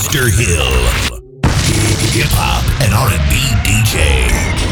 Mr. Hill, hip hop and R&B DJ.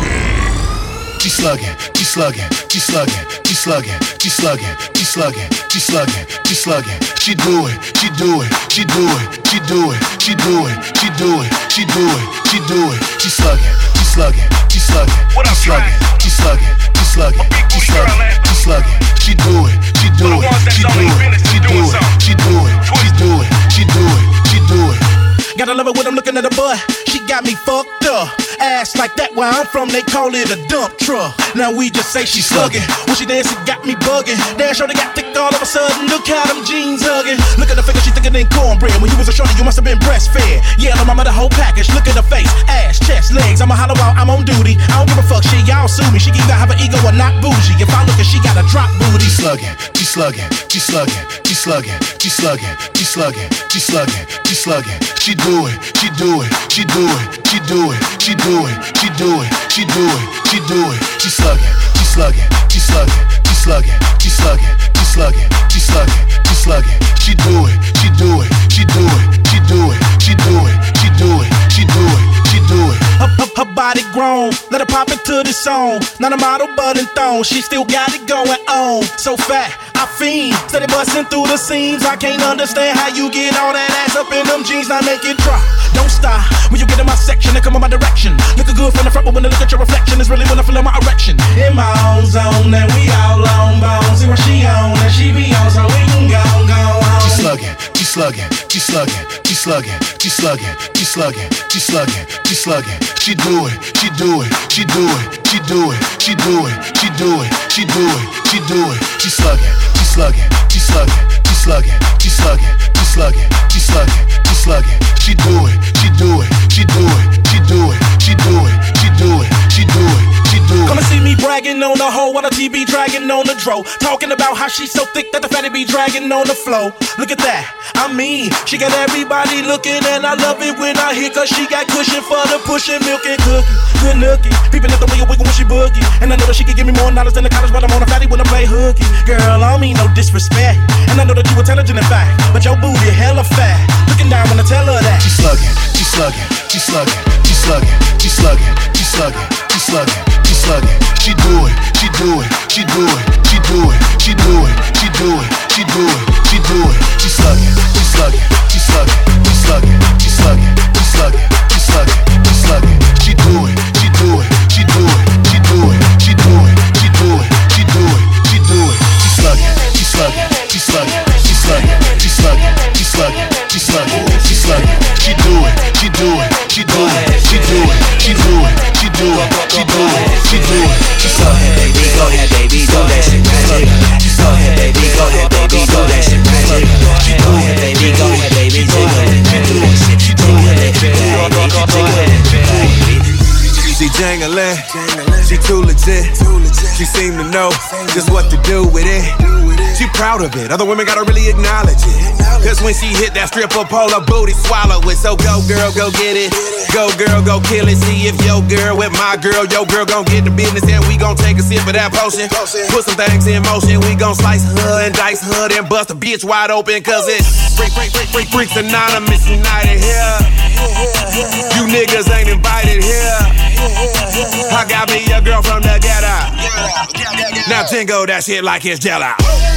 She slugging, she slugging, she slugging, she slugging, she slugging, she slugging, she slugging, she slugging. She do it, she do it, she do it, she do it, she do it, she do it, she do it, she do it. She slugging, she slugging, she slugging, she slugging, she slugging, she slugging, she slugging, she slugging. She do it, she do it, she do it, she do it, she do it, she do it, she do it, she do it. Gotta love it when I'm looking at her butt. She got me fucked up. Ass like that where I'm from, they call it a dump truck. Now we just say she slugging. When she dance, it got me bugging. Damn sure they got thick all of a sudden. Look how them jeans hugging. Look at the figure, she thicker than cornbread. When you was a shorty, you must have been breastfed. Yeah, no mama, the whole package. Look at her face, ass, chest, legs. I'ma holler out, I'm on duty. I don't give a fuck, shit, y'all sue me. She can either have an ego or not bougie. If I look at she got a drop booty. She slugging, she slugging, she slugging, she slugging, she slugging, she slugging, she slugging, she slugging. She do it, she do it, she do it, she do it, she do it, she do it, she do it, she do it. She slugging, she slugging, she slugging, she slugging, she slugging, she slugging, she slugging, she slugging. She do it, she do it, she do it, she do it, she do it, she do it, she do it, she do it. Her body grown, let her pop into the song. Not a model but in thong, she still got it going on. So fat, I fiend, steady busting through the seams. I can't understand how you get all that ass up in them jeans. Now make it drop, don't stop. When you get in my section, and come in my direction. Looking good from the front, but when I look at your reflection, it's really when I feel my erection. In my own zone, and we all long bones. See what she on, and she be on, so we can go home. She slugging, she slugging, she slugging, she slugging, she slugging, she slugging, she slugging, she slugging. She do it, she do it, she do it, she do it, she do it, she do it, she do it, she do it. She slugging, she slugging, she slugging, she slugging, she slugging, she slugging, she slugging, she slugging. She do it, she do it, she do it, she do it, she do it, she do it, she do it, she do it. Come and see me bragging on the hoe while the TV dragging on the dro. Talking about how she's so thick that the fatty be dragging on the flow. Look at that, I mean, she got everybody looking, and I love it when I hear, cause she got cushion for the pushing, milk and cookie. Good nookie, people at the way you wiggle when she boogie. And I know that she can give me more knowledge than the college, but I'm on a fatty when I play hooky. Girl, I don't mean no disrespect, and I know that you intelligent in fact, but your booty hella fat. Looking down when I tell her that. She slugging, she slugging, she slugging, she slugging, she slugging, she slugging, she slugging, she slugging. She do it, she do it, she do it, she do it, she do it, she do it, she do it, she do it. She slugging, she slugging, she slugging, she slugging, she slugging, she slugging, she slugging, she slugging. She do it, she do it, she do it, she do it, she do it, she do it, she do it, she do it. She slugging, she slugging, she slugging, she slugging, she slugging, she slugging, she slugging, she slugging. She do it, she do it, she do it, she do it, she do it, she do it, she do it, she do it. She slugging, baby, go ahead, baby, do that shit magic. Go ahead, baby, go ahead, baby, do that shit magic. Go ahead, baby, go ahead, baby, jiggle it, do that shit. Go ahead, baby, jiggle it, baby. She jangling, she too legit. She seem to know just what to do with it. She proud of it, other women gotta really acknowledge it. Cause when she hit that stripper pole, her booty swallow it. So go girl, go get it. Go girl, go kill it. See if your girl with my girl, your girl gon' get the business, and we gon' take a sip of that potion. Put some things in motion, we gon' slice her and dice her and bust a bitch wide open. Cause it's freaks anonymous united here. You niggas ain't invited here. I got me a girl from the ghetto. Now jingle that shit like it's Jello.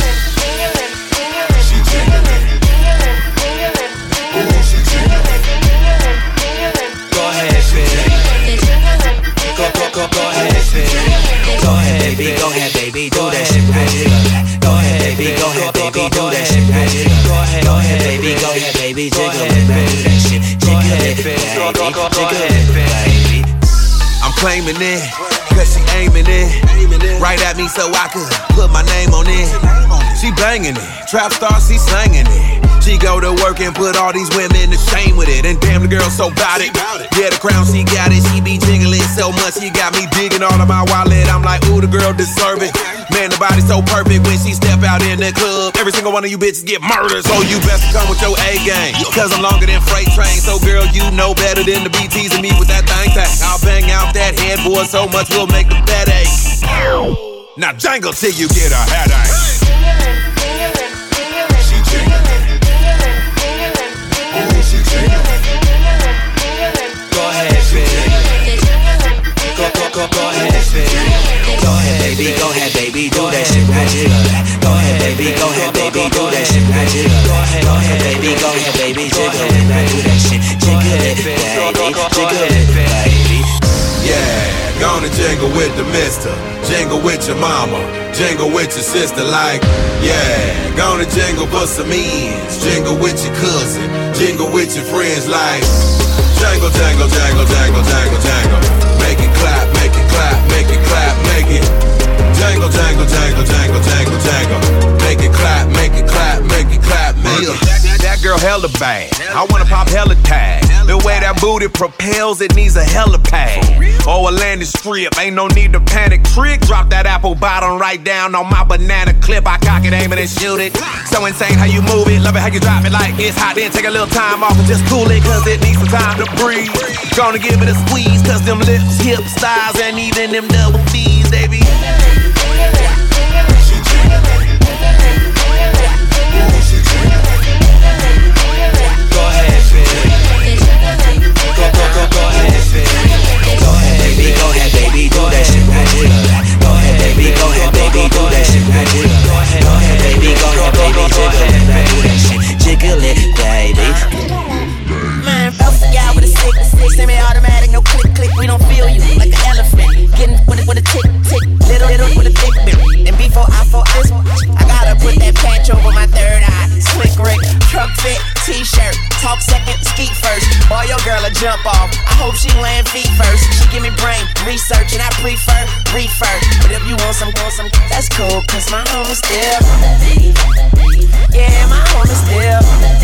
Go ahead, baby. Go ahead, baby. Go ahead, baby. Go ahead, baby. Do that shit magic. Go ahead, baby. Go ahead, baby. Do that shit magic. Go ahead, baby. Go ahead, baby. Jiggle it, do that shit. Jiggle it, baby. Jiggle it, baby. I'm claiming it, cause she aiming it right at me so I could put my name on it. She banging it, trap star, she slanging it. She go to work and put all these women to shame with it. And damn, the girl so bout it. Yeah, the crown, she got it. She be jiggling so much, she got me digging all of my wallet. I'm like, ooh, the girl deserve it. Man, the body's so perfect when she step out in the club. Every single one of you bitches get murdered. So you best come with your A game, cause I'm longer than freight train. So girl, you know better than to be teasing me with that thing. I'll bang out that headboard so much we'll make the bed ache. Now jangle till you get a headache. She jingling. Ooh, she jingling. baby, go ahead, baby, do that shit. Now jiggle it. Go ahead, baby, go ahead, baby, jiggle it. Now do that shit. Jiggle it, baby, jiggle it, baby. Yeah, gonna jingle with the mister. Jingle with your mama. Jingle with your sister like, yeah. Gonna jingle for some ends. Jingle with your cousin. Jingle with your friends like, jangle, jangle, jangle, jangle, jangle, jangle. Make it clap, make it clap, make it clap, make it. Jangle, jangle, jangle, jangle, jangle, jangle. Make it clap, make it clap, make it clap, make it. That girl hella bad. I wanna pop hella tag. The way that booty propels, it needs a hella pad. Oh, a landing strip, ain't no need to panic. Trick, drop that apple bottom right down on my banana clip. I cock it, aim it, and shoot it. So insane how you move it. Love it how you drop it like it's hot. Then take a little time off and just cool it, cause it needs some time to breathe. Gonna give it a squeeze, cause them lips, hips, thighs, and even them double D's, baby. Go ahead, baby. Go ahead, baby. Go ahead, baby. Go ahead, baby. Do that shit. Now jiggle it. Go ahead, baby. Go ahead, baby. Do that shit. Now jiggle it. Go ahead, baby. Go ahead, baby. Jiggle it. Now do that shit. Jiggle it, baby. Man, both of y'all with a stick, semi-automatic, no click, click. We don't feel you like an elephant. Getting with a tick, tick, little with a thick bit. And before I gotta put that patch over my third eye. Slick Rick, truck fit, t-shirt, talk second, skeet first. Boy, your girl a jump off. I hope she land feet first. She give me brain research and I prefer refer. But if you want some, that's cool, cause my home is still. Yeah, my home is still.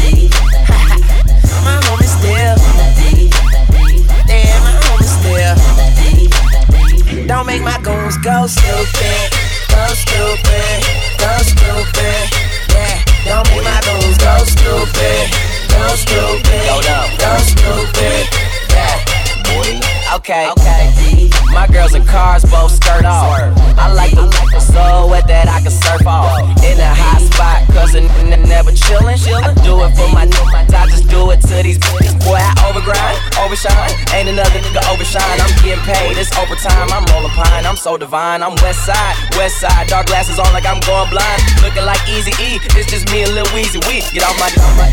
My home is still. Yeah, my home is still. Don't make my goons go stupid. Go stupid. Go stupid. Yeah, don't make my goons go stupid. Go stupid. Go stupid. Yeah, boy. Okay. My girls in cars both skirt off. I like the so wet that I can surf off. In a hot spot, cause a never chillin'. I do it for my niggas, I just do it to these bitches. Boy, I overgrind, overshine. Ain't another nigga overshine. I'm getting paid, it's overtime. I'm rolling pine, I'm so divine. I'm west side, dark glasses on like I'm going blind. Looking like Eazy-E, it's just me and Lil Weezy. We get off my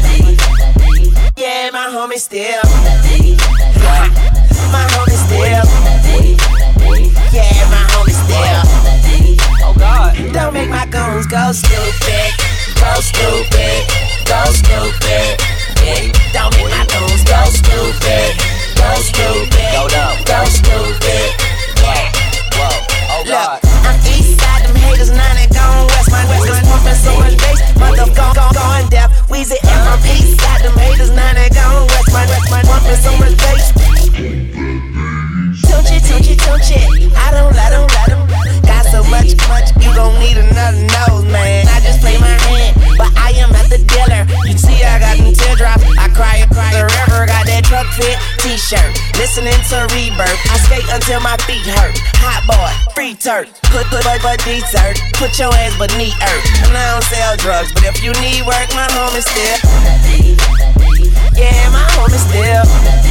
yeah, my homie still. My homie still. Yeah, my homie still. Oh God. Don't make my goons go stupid. Go stupid. Go stupid. Yeah. Don't make my goons go stupid. Go stupid. Go dumb. Go stupid. Yeah. Whoa. Oh God. Look, I'm east side, them haters, now they gone west. My pumping so much bass, motherfucker going deaf. Weezy and I'm east side, them haters, now they gone west. My pumping so much bass. Tunchi, I don't let them. Got so much, you gon' need another nose, man. I just play my hand, but I am not the dealer. You see, I got them teardrops, I cry. The river got that truck fit t-shirt. Listening to Rebirth, I skate until my feet hurt. Hot boy, free turf, put dessert. Put your ass beneath earth. And I don't sell drugs, but if you need work, my home is still. Yeah, my home is still.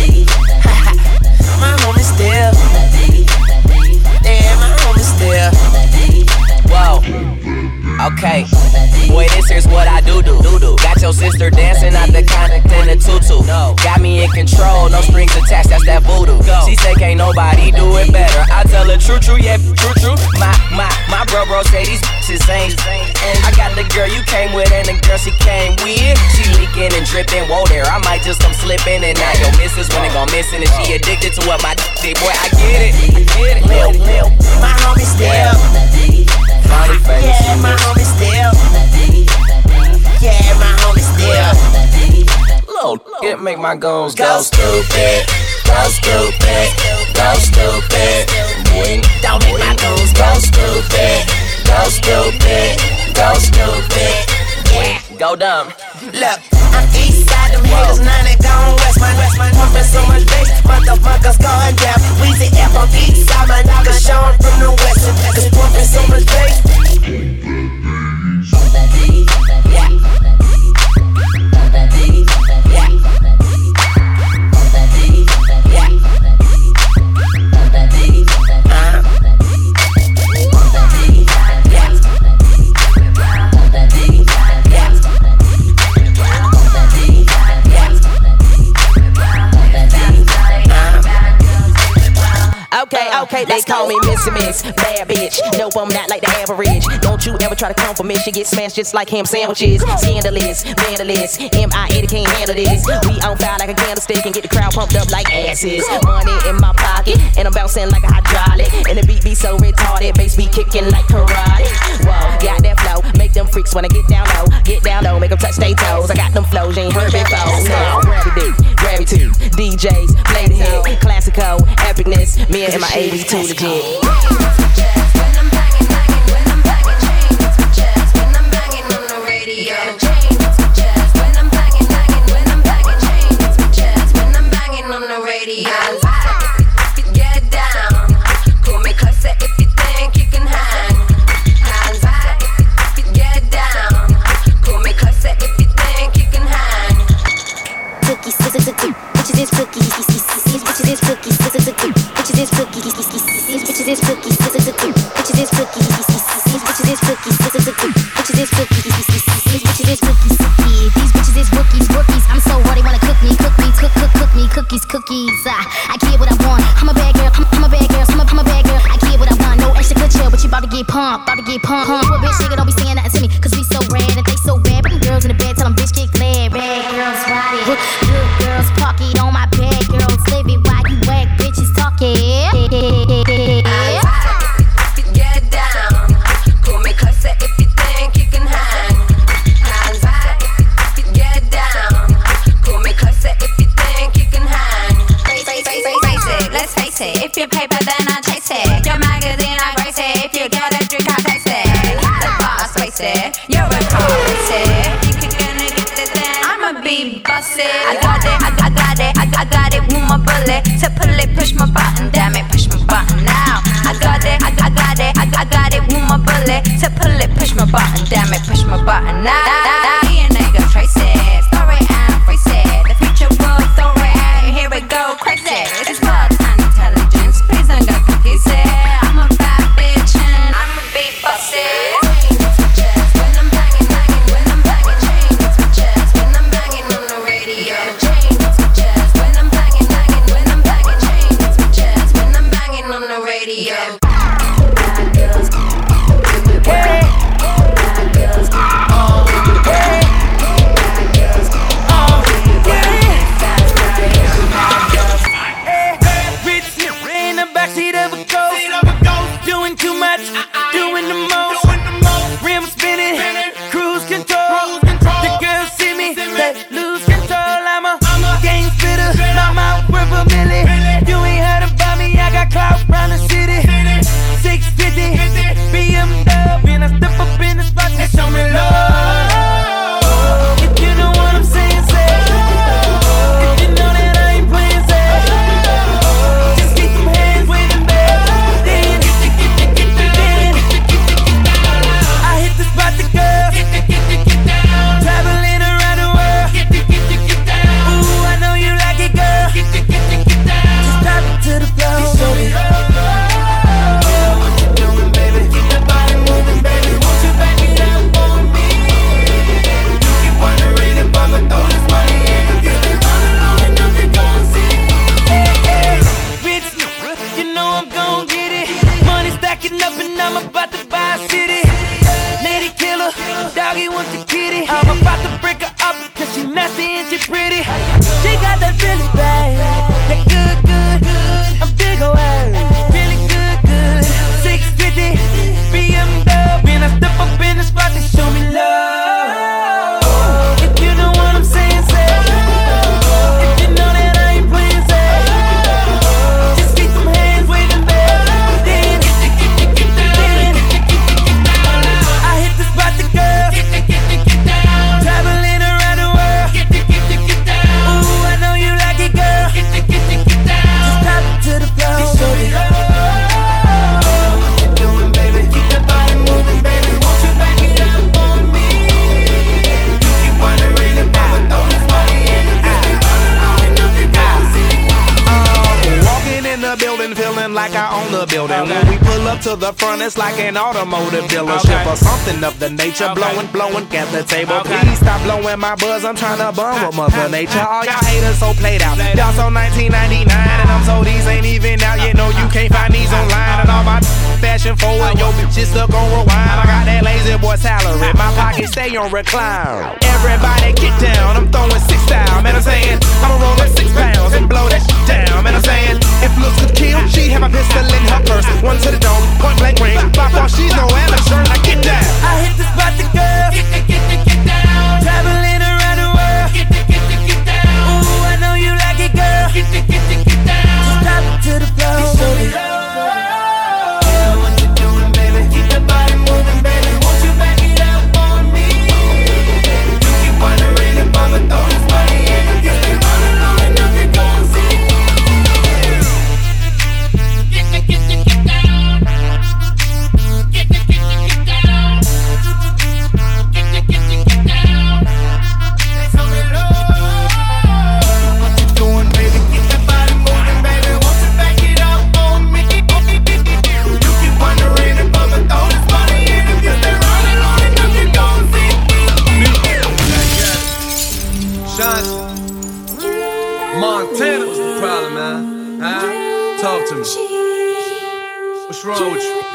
My home is still. Yeah, my home is still. Whoa. Okay. Boy, this here's what I do. Got your sister dancing out the conduct in a tutu. Got me in control, no strings attached, that's that voodoo. She say can't nobody do it better. I tell her true, yeah, true. My bro say these bitches ain't. I got the girl you came with and the girl she came with. She leaking and dripping, whoa there. I might just come slipping and now your missus when it gon' missing and she addicted to what my did. Boy, I get it. Lil, my homie still. Yeah, my homie still. Yeah, my homie still. Lil, it make my goons go stupid. Go stupid. Go stupid. Don't make my goons go stupid. Go stupid. Go stupid. Yeah. Go dumb. Look, I'm east side, them haters, now they gone west. My pumping so much bass, motherfuckers going deaf. Weezy F on east side, my niggas showing from the west. Cause pumping so much bass. Yeah. Okay, they call me Missy Miss, bad bitch. No, I'm not like the average. Don't you ever try to come for me. She get smashed just like ham sandwiches. Scandalous, vandalous, M.I.A. can't handle this. We on fire like a candlestick and get the crowd pumped up like asses. Money in my pocket, and I'm bouncing like a hydraulic. And the beat be so retarded, bass be kicking like karate. Whoa, got that flow, make them freaks wanna get down low, make them touch their toes. I got them flows, you ain't heard before. Now, grab it deep, grab it too. DJs, play the hit, classical, epicness. Me and my AV too legit. Get down, pull me closer if you think you can hang. Hands back, get down, pull me closer if you think you can hang. Cookies, bitches is cookies, bitches is cookies, bitches is cookies, bitches is cookies, bitches is cookies, bitches is cookies, bitches is cookies, bitches is cookies, bitches is cookies. These bitches is rookies. I'm so hard they wanna cook me, cookies. I get what I want. I'm a bad girl. I'm a bad girl. I'm a bad girl. I get what I want. No extra good chill, but you about to get pumped. You a bitch nigga, don't be saying nothing to me, 'cause we so red and they so bad. But them girls in the bed tell them bitch get glad. Bad girls ride it, good girls park it on my bad girls live it. Why you whack bitches talking? Get down, pull me closer if you think you can hang. Hands back, get down, pull me closer if you think you can hang. Let's face it, if you paper then I chase it. Your magazine I grace it, if you get a drink I taste it. The boss waste it, you're a car race it. You can get it then I'ma be busted. I got it with my bullet. To pull it, push my button, damn it, push my button now. I got it with my bullet. To pull it, push my button, damn it, push my button now. Me and nigga trace it, story and freeze it. The future will throw it, here we go, crazy. It's blood and intelligence, please don't go confuse it. I'm a bad bitch and I'ma be busted. When I'm banging, when I'm banging, chains my chest. When I'm banging on the radio, chains my chest. When I'm banging, when I'm banging, chains my chest. When I'm banging on the radio. Bad girls, hey. Bad girls, hey. Bad girls, Rich in the backseat of a ghost, doing too much, doing the most. Rim spinning, cruise control. The girls see me, they lose control. I'm a game spitter, my mouth worth a million. You ain't heard about me, I got clout round the city. 650, BMW, and I step up in the spot, they show me love. If you know what I'm saying, say. If you know that I ain't playing, say. Just keep them hands waving back. Then I hit the spot to go. Traveling around the world. Ooh, I know you like it, girl. Just drop it to the floor. Show me what you doing, baby. Keep the body moving, baby. Won't you back it up for me? You keep wondering if I'ma throw this money in. You keep running long enough, you gon' see. Rich, you know I'm gon' get it. Money stacking up and I'm about to buy a city. Lady killer, doggy wants the kitty. I'm about to break her up, 'cause she nasty and she pretty. She got that really bad, that good. I'm big away, really good. 650, BMW, and I step up in the spot to show me love. If you know what I'm saying, say. If you know that I ain't playing, say. Just keep them hands waving back. Then I hit the spot to go. Traveling around the world. Ooh, up to the front, it's like an automotive dealership or something of the nature. Blowing at the table. Please stop blowing my buzz, I'm trying to bum with Mother Nature. All y'all haters so played out. Y'all so 1999 and I'm so these ain't even out. You know you can't find these online and all my fashion forward. Yo, bitches stuck on rewind. I got that lazy boy salary. My pocket stay on recline. Everybody get down, I'm throwing 6 down. Man, I'm saying, I'ma roll up 6 pounds and blow that shit down. Man, I'm saying, if looks could kill, she have a pistol in her purse. One to the dome, point blank range. By far, she's no amateur. I get down. I hit the spot, the girl. Get down. Traveling around the world. Get down. Ooh, I know you like it, girl. Get down. Just drop it to the floor. Montana, what's the problem, man? Huh? Talk to me. What's wrong with you?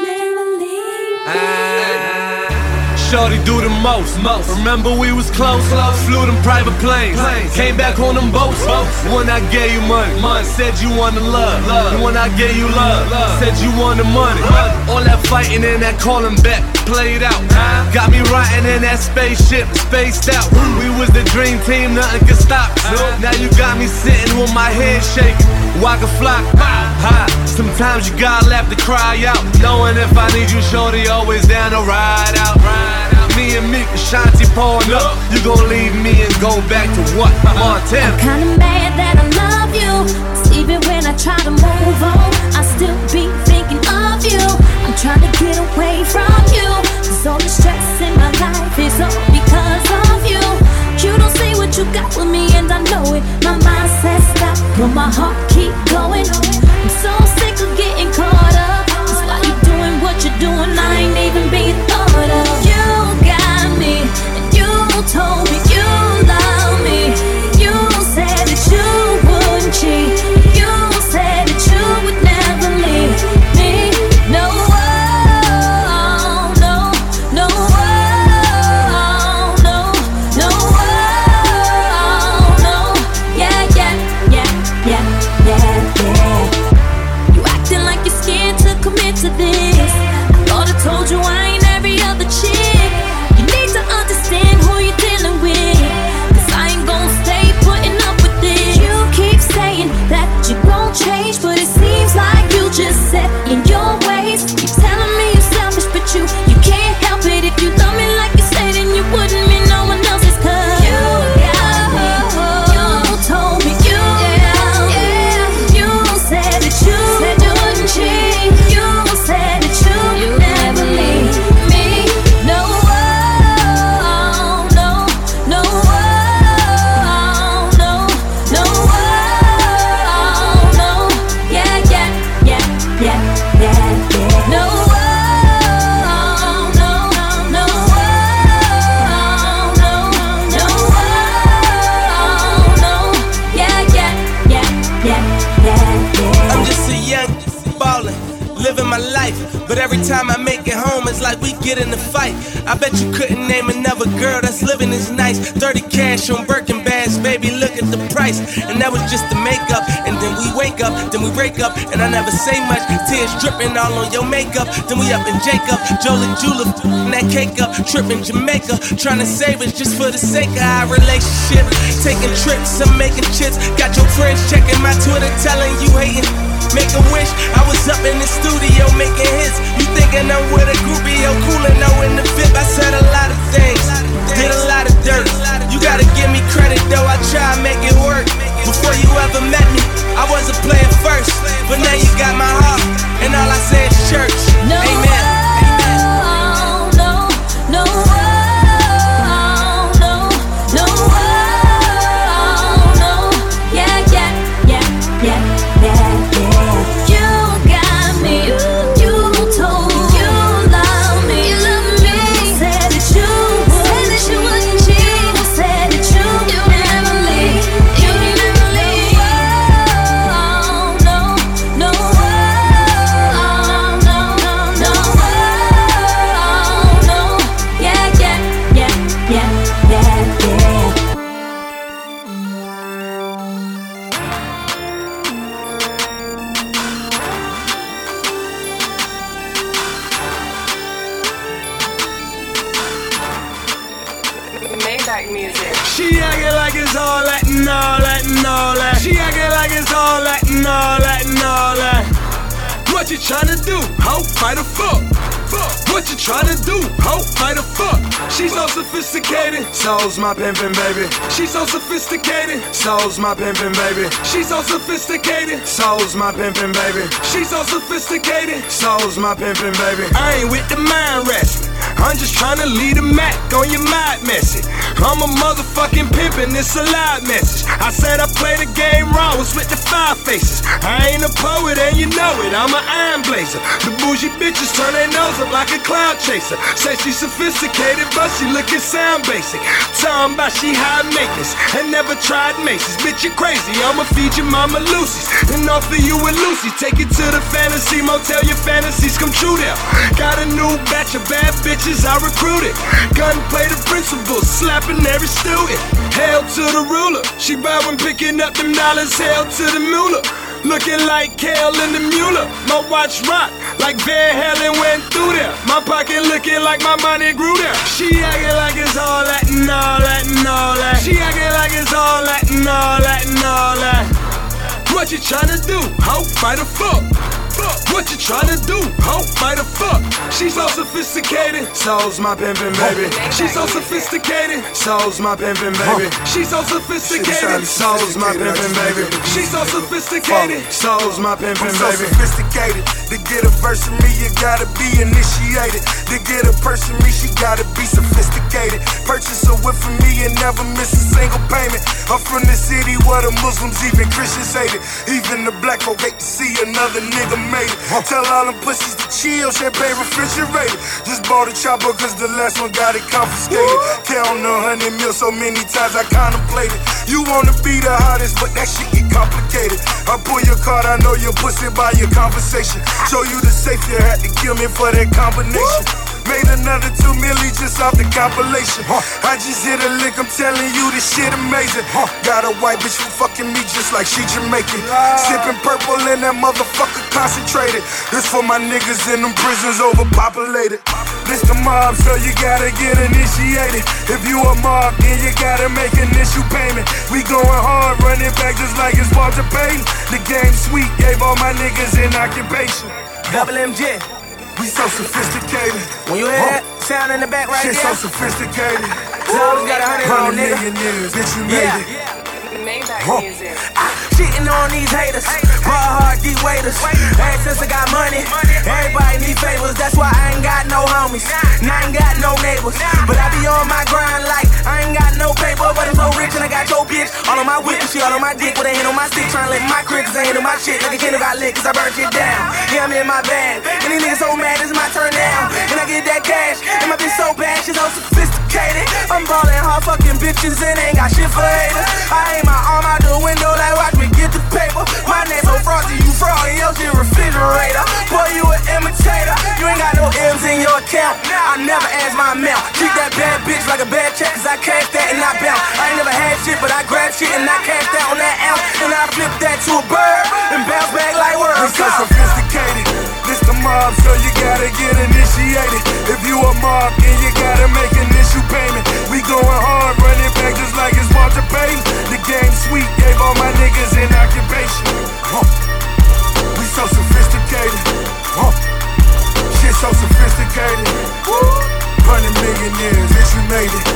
Shorty do the most. Remember we was close. Flew them private planes. Came back on them boats. When I gave you money. Said you wanted love. When I gave you love. Said you wanted money. All that fighting and that calling back played out. Got me riding in that spaceship, spaced out. We was the dream team, nothing could stop. Now you got me sitting with my head shaking. Waka flock. Sometimes you gotta laugh to cry out. Knowing if I need you, shorty, always down to ride out. Me and Meek, Ashanti pouring up. You gon' leave me and go back to what? Montana. I'm kinda mad that I love you. 'Cause even when I try to move on, I still be thinking of you. I'm trying to get away from you. 'Cause all the stress in my life is all because of you. You don't see what you got with me and I know it. My mind says stop, but my heart keep going. I'm so sick of getting caught up. That's why you doing what you're doing. I ain't even being thought of. You got me, and you told me you love me. You said that you wouldn't cheat. You said that you would never leave me. No, no, no, no, no, no. Yeah, yeah, yeah, yeah, yeah, yeah. You acting like you're scared to commit to this. I thought I told you I ain't every other chick. You need to understand who you're dealing with. 'Cause I ain't gon' stay putting up with this. You keep saying that you gon' change, but it seems like you just set in your ways. Keep telling me you're selfish, but you can't help it. If you love me like you say, then you wouldn't mean no one else's. 'Cause you got me. You told me you love me. You said that you wouldn't cheat. You said that you would never leave me. No, no, no, no, no, no. Yeah, yeah, yeah, yeah, yeah, yeah. No, no, no, no, no, no. Yeah, yeah, yeah, yeah, yeah, yeah. I'm just a young ballin', living my life. But every time I make it home, it's like we get in a fight. I bet you couldn't name another girl that's living as nice. 30 cash on Birkin bags, baby, look at the price. And that was just the makeup. And then we wake up, then we break up. And I never say much, tears dripping all on your makeup. Then we up in Jacob, Jolie Jula, that cake up. Tripping Jamaica, trying to save us just for the sake of our relationship. Taking trips, I'm making chips. Got your friends checking my Twitter, telling you hating. Make a wish, I was up in the studio making hits. You thinking I'm with a groupie, yo, coolin', no in the VIP. I said a lot of things, did a lot of dirt. You gotta give me credit though, I try to make it work. Before you ever met me, I was a player first. But now you got my heart, and all I say is church. No, amen. no, no, no, no, no. Yeah, yeah, yeah, yeah, yeah, yeah. You got me. You told Maybach music. She acting like it's all that and all that and all that. She acting like it's all that and all that and all that. What you tryna do? Ho, fight or fuck? What you tryna do? Ho, fight or fuck? She's so sophisticated, so's my pimpin' baby. She's so sophisticated, so's my pimpin' baby. She's so sophisticated, so's my pimpin' baby. She's so sophisticated, so's my pimpin' baby. I ain't with the mind wrestling, I'm just tryna lead a Mac on your mind message. I'm a motherfucking pimpin', it's a loud message. I said I play the game wrong, was with the 5 faces. I ain't a poet and you know it, I'm an iron blazer. The bougie bitches turn their nose up like a cloud chaser. Say she sophisticated, but she lookin' sound basic. Talking about she high maintenance and never tried Macy's. Bitch, you crazy, I'ma feed your mama Lucy's and offer you a Lucy. Take it to the fantasy motel, your fantasies come true there. Got a new batch of bad bitches I recruited. Gunplay the principal, slapping every student. Hail to the ruler, she bad when picking up them dollars. Hail to the Mueller, looking like Kale and the Mueller. My watch rock like Van Halen went through there. My pocket looking like my money grew there. She acting like it's all that and all that and all that. She acting like it's all that and all that and all that. What you tryna do? Ho, fight or fuck? What you tryna do? Ho, fight or fuck? She's so sophisticated, so's my pimpin' baby. She's so sophisticated, so's my pimpin' baby. She's so sophisticated, so's my pimpin' baby. She's so sophisticated, so's my pimpin' baby. So sophisticated, to get a verse from me, you gotta be initiated. To get a person from me, she gotta be sophisticated. Purchase a whip from me and never miss a single payment. I'm from the city where the Muslims, even Christians hate it. Even the black folk hate to see another nigga made it. Tell all them pussies to chill, champagne refrigerated. Just bought a chopper cause the last one got it confiscated. Count 100 mil so many times I contemplated. You wanna be the hottest, but that shit get complicated. I pull your card, I know your pussy by your conversation. Show you the safe, you had to kill me for that combination. Made another 2 million just off the compilation. I just hit a lick, I'm telling you this shit amazing. Got a white bitch for fucking me just like she Jamaican. Sipping purple and that motherfucker concentrated. This for my niggas in them prisons overpopulated. This the mob, so you gotta get initiated. If you a mob, then you gotta make an issue payment. We going hard, running back just like it's Walter Payton. The game sweet, gave all my niggas an occupation. Double MJ. We so sophisticated. When you hear that sound in the back right shit there, so sophisticated. Always got 100 on, nigga. Millionaires, bitch, you made it. Maybach music. Shitting on these haters, raw hard deep waiters. Ever since I got money, everybody need favors. That's why I ain't got no homies, and I ain't got no neighbors. But I be on my grind like I ain't got no paper, but I'm so rich and I got your bitch all on my whip and she all on my dick with a hand on my stick, trying to lick my crick 'cause I ain't on my shit like a kid who got lit 'cause I burnt it down. Yeah, I'm in my bag, and these niggas so mad it's my turn now, and I get that cash, and my bitch so bad she's so sophisticated. I'm ballin' hard fucking bitches and ain't got shit for haters. I aim my arm out the window like watch me get the paper. My name so frosty, you fraud in your shit refrigerator. Boy, you an imitator. You ain't got no M's in your account. I never ask my amount. Treat that bad bitch like a bad check 'cause I cash that and I bounce. I ain't never had shit, but I grab shit and I cash that on that ounce. And I flip that to a bird and bounce back like words. We so sophisticated. This the mob, so you gotta get initiated. If you a mob, then you gotta make an issue payment. We going hard, running back just like it's Walter Payton. The game sweet, gave all my niggas an occupation. We so sophisticated. Shit so sophisticated. 100 millionaires, bitch, you made it.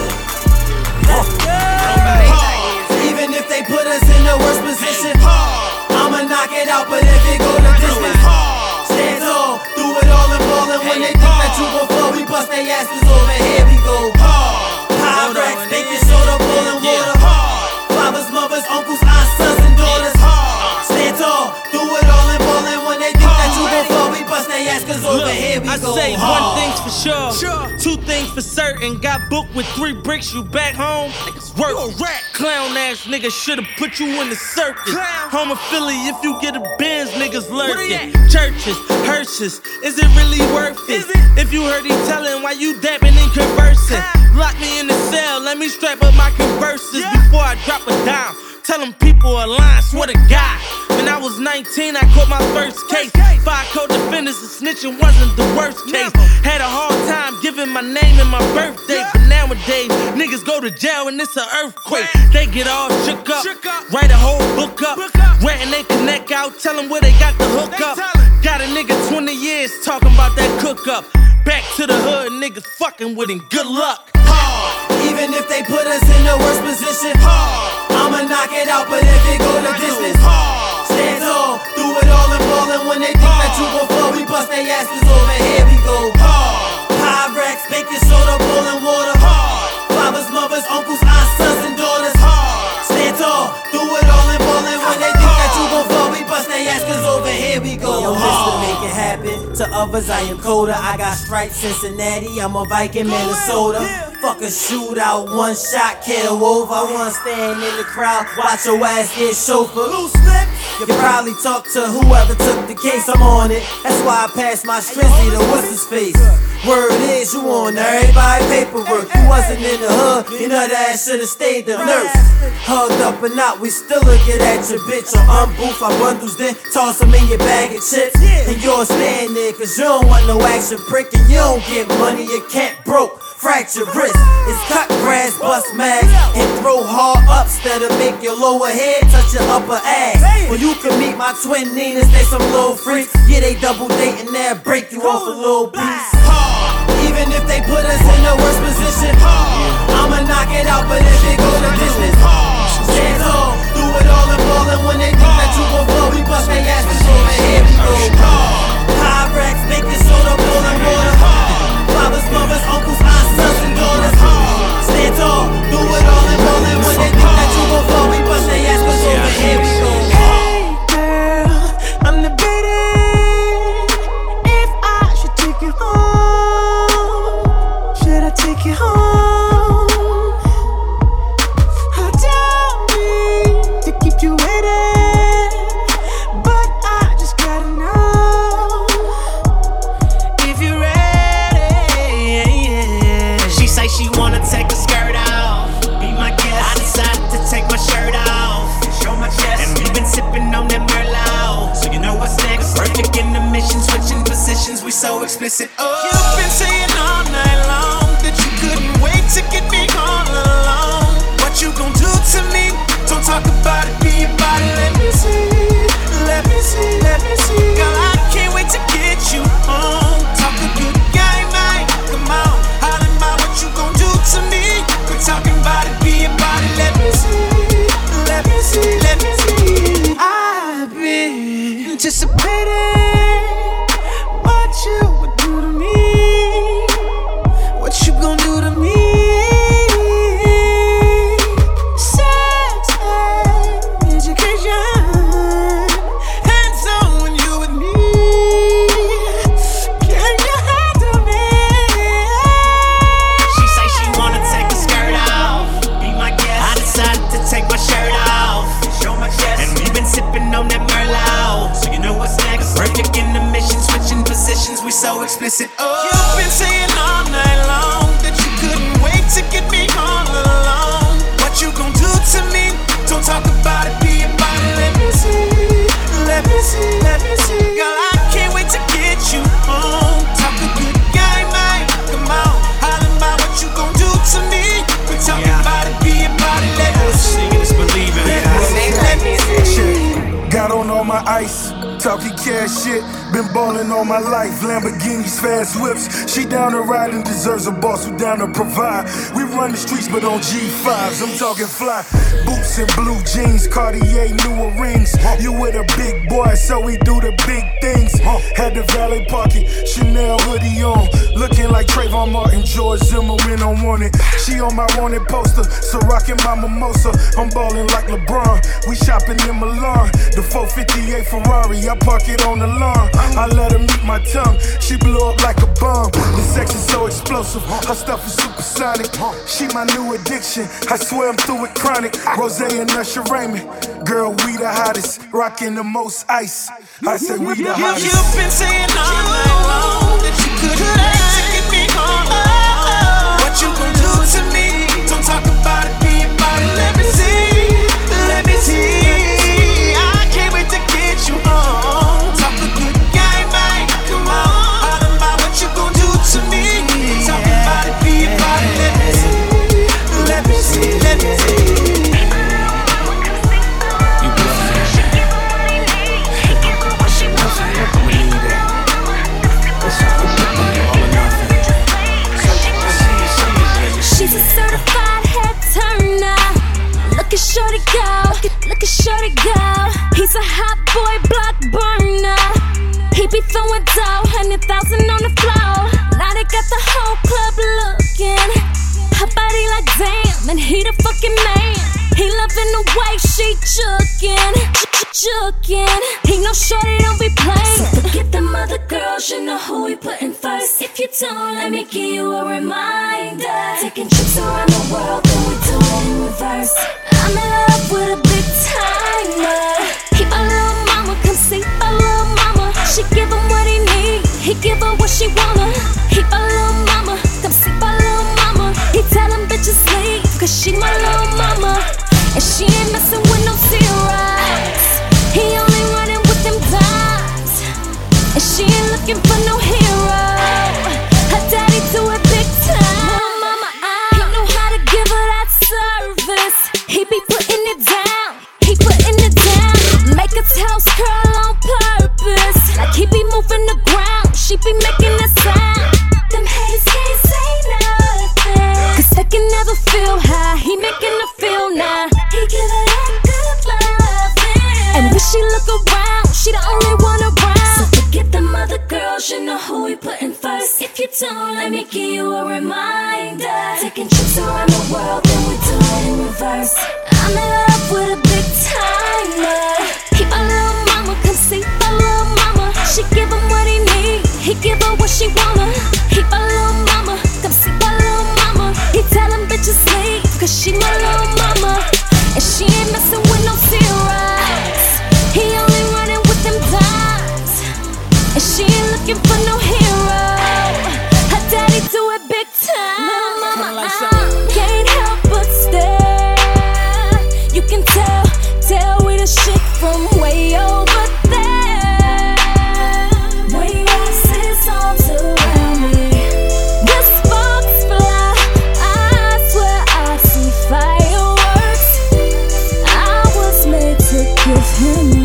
Even if they put us in the worst position, I'ma knock it out, but if it go the distance, stand tall, do it all and ballin'. When they think that you gon' fall, we bust their asses over, here we go. High racks, baking soda, boiling water. Fathers, mothers, uncles, aunts, sons, and daughters. Stand tall, do it all and ballin'. When they think that you gon' fall, we bust their asses over, here we go. I say one thing's for sure, two things for certain. Got booked with 3 bricks, you back home, niggas work. Clown ass nigga should've put you in the circus. Home of Philly, if you get a Benz, niggas lurking. Churches, hearses, is it really worth it? If you heard he tellin', why you dabbing and conversing? Lock me in the cell, let me strap up my converses before I drop a dime. Tell them people are lying, swear to God. When I was 19, I caught my first case. Five co-defendants and snitching wasn't the worst case. Had a hard time giving my name and my birthday. But nowadays, niggas go to jail and it's an earthquake. They get all shook up, write a whole book up. Ratting they connect out, tell them where they got the hook up. Got a nigga 20 years talking about that cook up. Back to the hood, niggas fucking with him, good luck. Even if they put us in the worst position, I'ma knock it out, but if it go the distance, stand tall, do it all and ballin'. When they think that you gon' fall, we bust they asses over, here we go. Pyrex, baking soda, boiling water. Fathers, mothers, uncles, aunts, sons, and daughters. Stand tall, do it all and ballin'. When they think that you gon' fall, we bust they asses over, here we go. Yo, this to make it happen. To others, I am colder. I got stripes, Cincinnati. I'm a Viking, Minnesota. Fuck a shootout, one shot, kill over. I wanna stand in the crowd, watch your ass get chauffeur. You probably talk to whoever took the case, I'm on it. That's why I passed my strizzy to what's his face. Word is, you on everybody paperwork. You wasn't in the hood, you know that should've stayed the nurse. Hugged up or not, we still look at your bitch. Or unboof our bundles, then toss them in your bag of chips. And you'll stand there, cause you don't want no action prick. And you don't get money, you can't broke. Fracture wrist, it's cut grass, bust mags, and throw hard up instead of make your lower head touch your upper ass. When you can meet my twin Ninas, they some little freaks. Yeah, they double dating, they'll break you off a little piece. Even if they put us in the worst position, I'ma knock it out, but if it go the distance, stand tall, do it all and ballin'. When they think that you gon' fall, we bust they asses over, here we go. Pyrex, baking soda, boiling water. Fathers, mothers, uncles, aunts, sons, and daughters. Stand tall, do it all and ballin'. When they think that you gon' fall, we bust they asses over, here we go. Hey girl, I'm debating if I should take you home. Should I take you home? Tell me to keep you waiting, but I just gotta know if you're ready. She wanna take her skirt off, be my guest. I decided to take my shirt off, show my chest. And we've been sipping on that Merlot, so you know what's next. Perfect in the mission, switching positions, we so explicit. Oh, you've been saying all night long that you couldn't wait to get me all alone. What you gon' do to me? Don't talk about it, be about it. Let me see, let me see, let me see. Girl, I can't wait to get you home. Talk a good game, man. Come on. You gon' do to me? We're talking about it, be about it. Let me see, let me see, let me see. I've been anticipating what you would do to me. What you gon' do to me? Sex and education, hands on when you with me. Can you handle me? Take my shirt off, show my chest. And we've been sipping on that Merlot, so you know what's next. Perfect in the mission, switching positions, we so explicit. Oh, you've been saying all night long that you couldn't wait to get me all alone. What you gon' do to me? Don't talk about it, be about it. Let me see, let me see, let me see. Girl, I can't wait to get you home. Talk a good game, man. Come on, holler about what you gon' do to me. We're talking about it, be about it. Let me see. Got on all my ice, talking cash shit. Been ballin' all my life, Lamborghinis, fast whips. She down to ride and deserves a boss who down to provide. We run the streets, but on G5s, I'm talking fly. Boots and blue jeans, Cartier, newer rings. You with a big boy, so we do the big things. Had the valet parking, Chanel hoodie on. Looking like Trayvon Martin, George Zimmer when I want it. She on my wanted poster, so rockin' my mimosa. I'm ballin' like LeBron, we shopping in Milan. The 458 Ferrari, I park it on the lawn. I let her meet my tongue, she blew up like a bomb. The sex is so explosive, her stuff is supersonic. She my new addiction, I swear I'm through with chronic. Rose and Usher Raymond, girl, we the hottest. Rockin' the most ice, I say we the hottest. You've been saying all night long that you couldn't wait to get me home. What you gon' do to me? Don't talk about it, be about it. Let me see, let me see. I can't wait to get you home. Talk a good game. let me see. You bluffing. I'ma need that. All or nothing. She's a certified head turner. Look at shorty go, look at shorty go. He's a hot boy block burner. He be throwing dough, 100,000 on the floor. Now they got the whole club looking. Her body like damn, and he the fucking man. He loving the way she jukin'. He know shorty don't be playing. So forget them other girls, you know who we putting first. If you don't, let me give you a reminder. Taking trips around the world, then we do it in reverse. I'm in love with a big timer. He my little mama, come see my little mama. She give him what he need, he give her what she wanna. He my little mama, come see my little mama. He tell them bitches sleep, cause she my little mama. And she ain't messing with no zeros. He only running with them dimes. And she ain't looking for no hero. Her daddy do it big time. Mama, he know how to give her that service. He be putting it down, he putting it down. Make a house curl on purpose. Like he be moving the ground, she be making that sound. Them haters can't say nothing, cause they can never feel high. He making her feel now. He give her that good loving. And when she look around, she the only one around. So forget them other girls, you know who we putting first. If you don't, let me give you a reminder. Taking trips around the world, then we do it in reverse. I'm in love with a big timer. He my little mama, come see my little mama. She give him what he need, he give her what she wanna. He my little mama, come see my little mama. He tell them bitches sleep, cause she my little mama. And she ain't messing with no zeros. He only running with them dimes. And she ain't looking for no hero. Her daddy do it big time. Mama, can't help but stare. You can tell we the shit from way over there. Way roses arms around me. The sparks fly, I swear I see fireworks. I was made to give him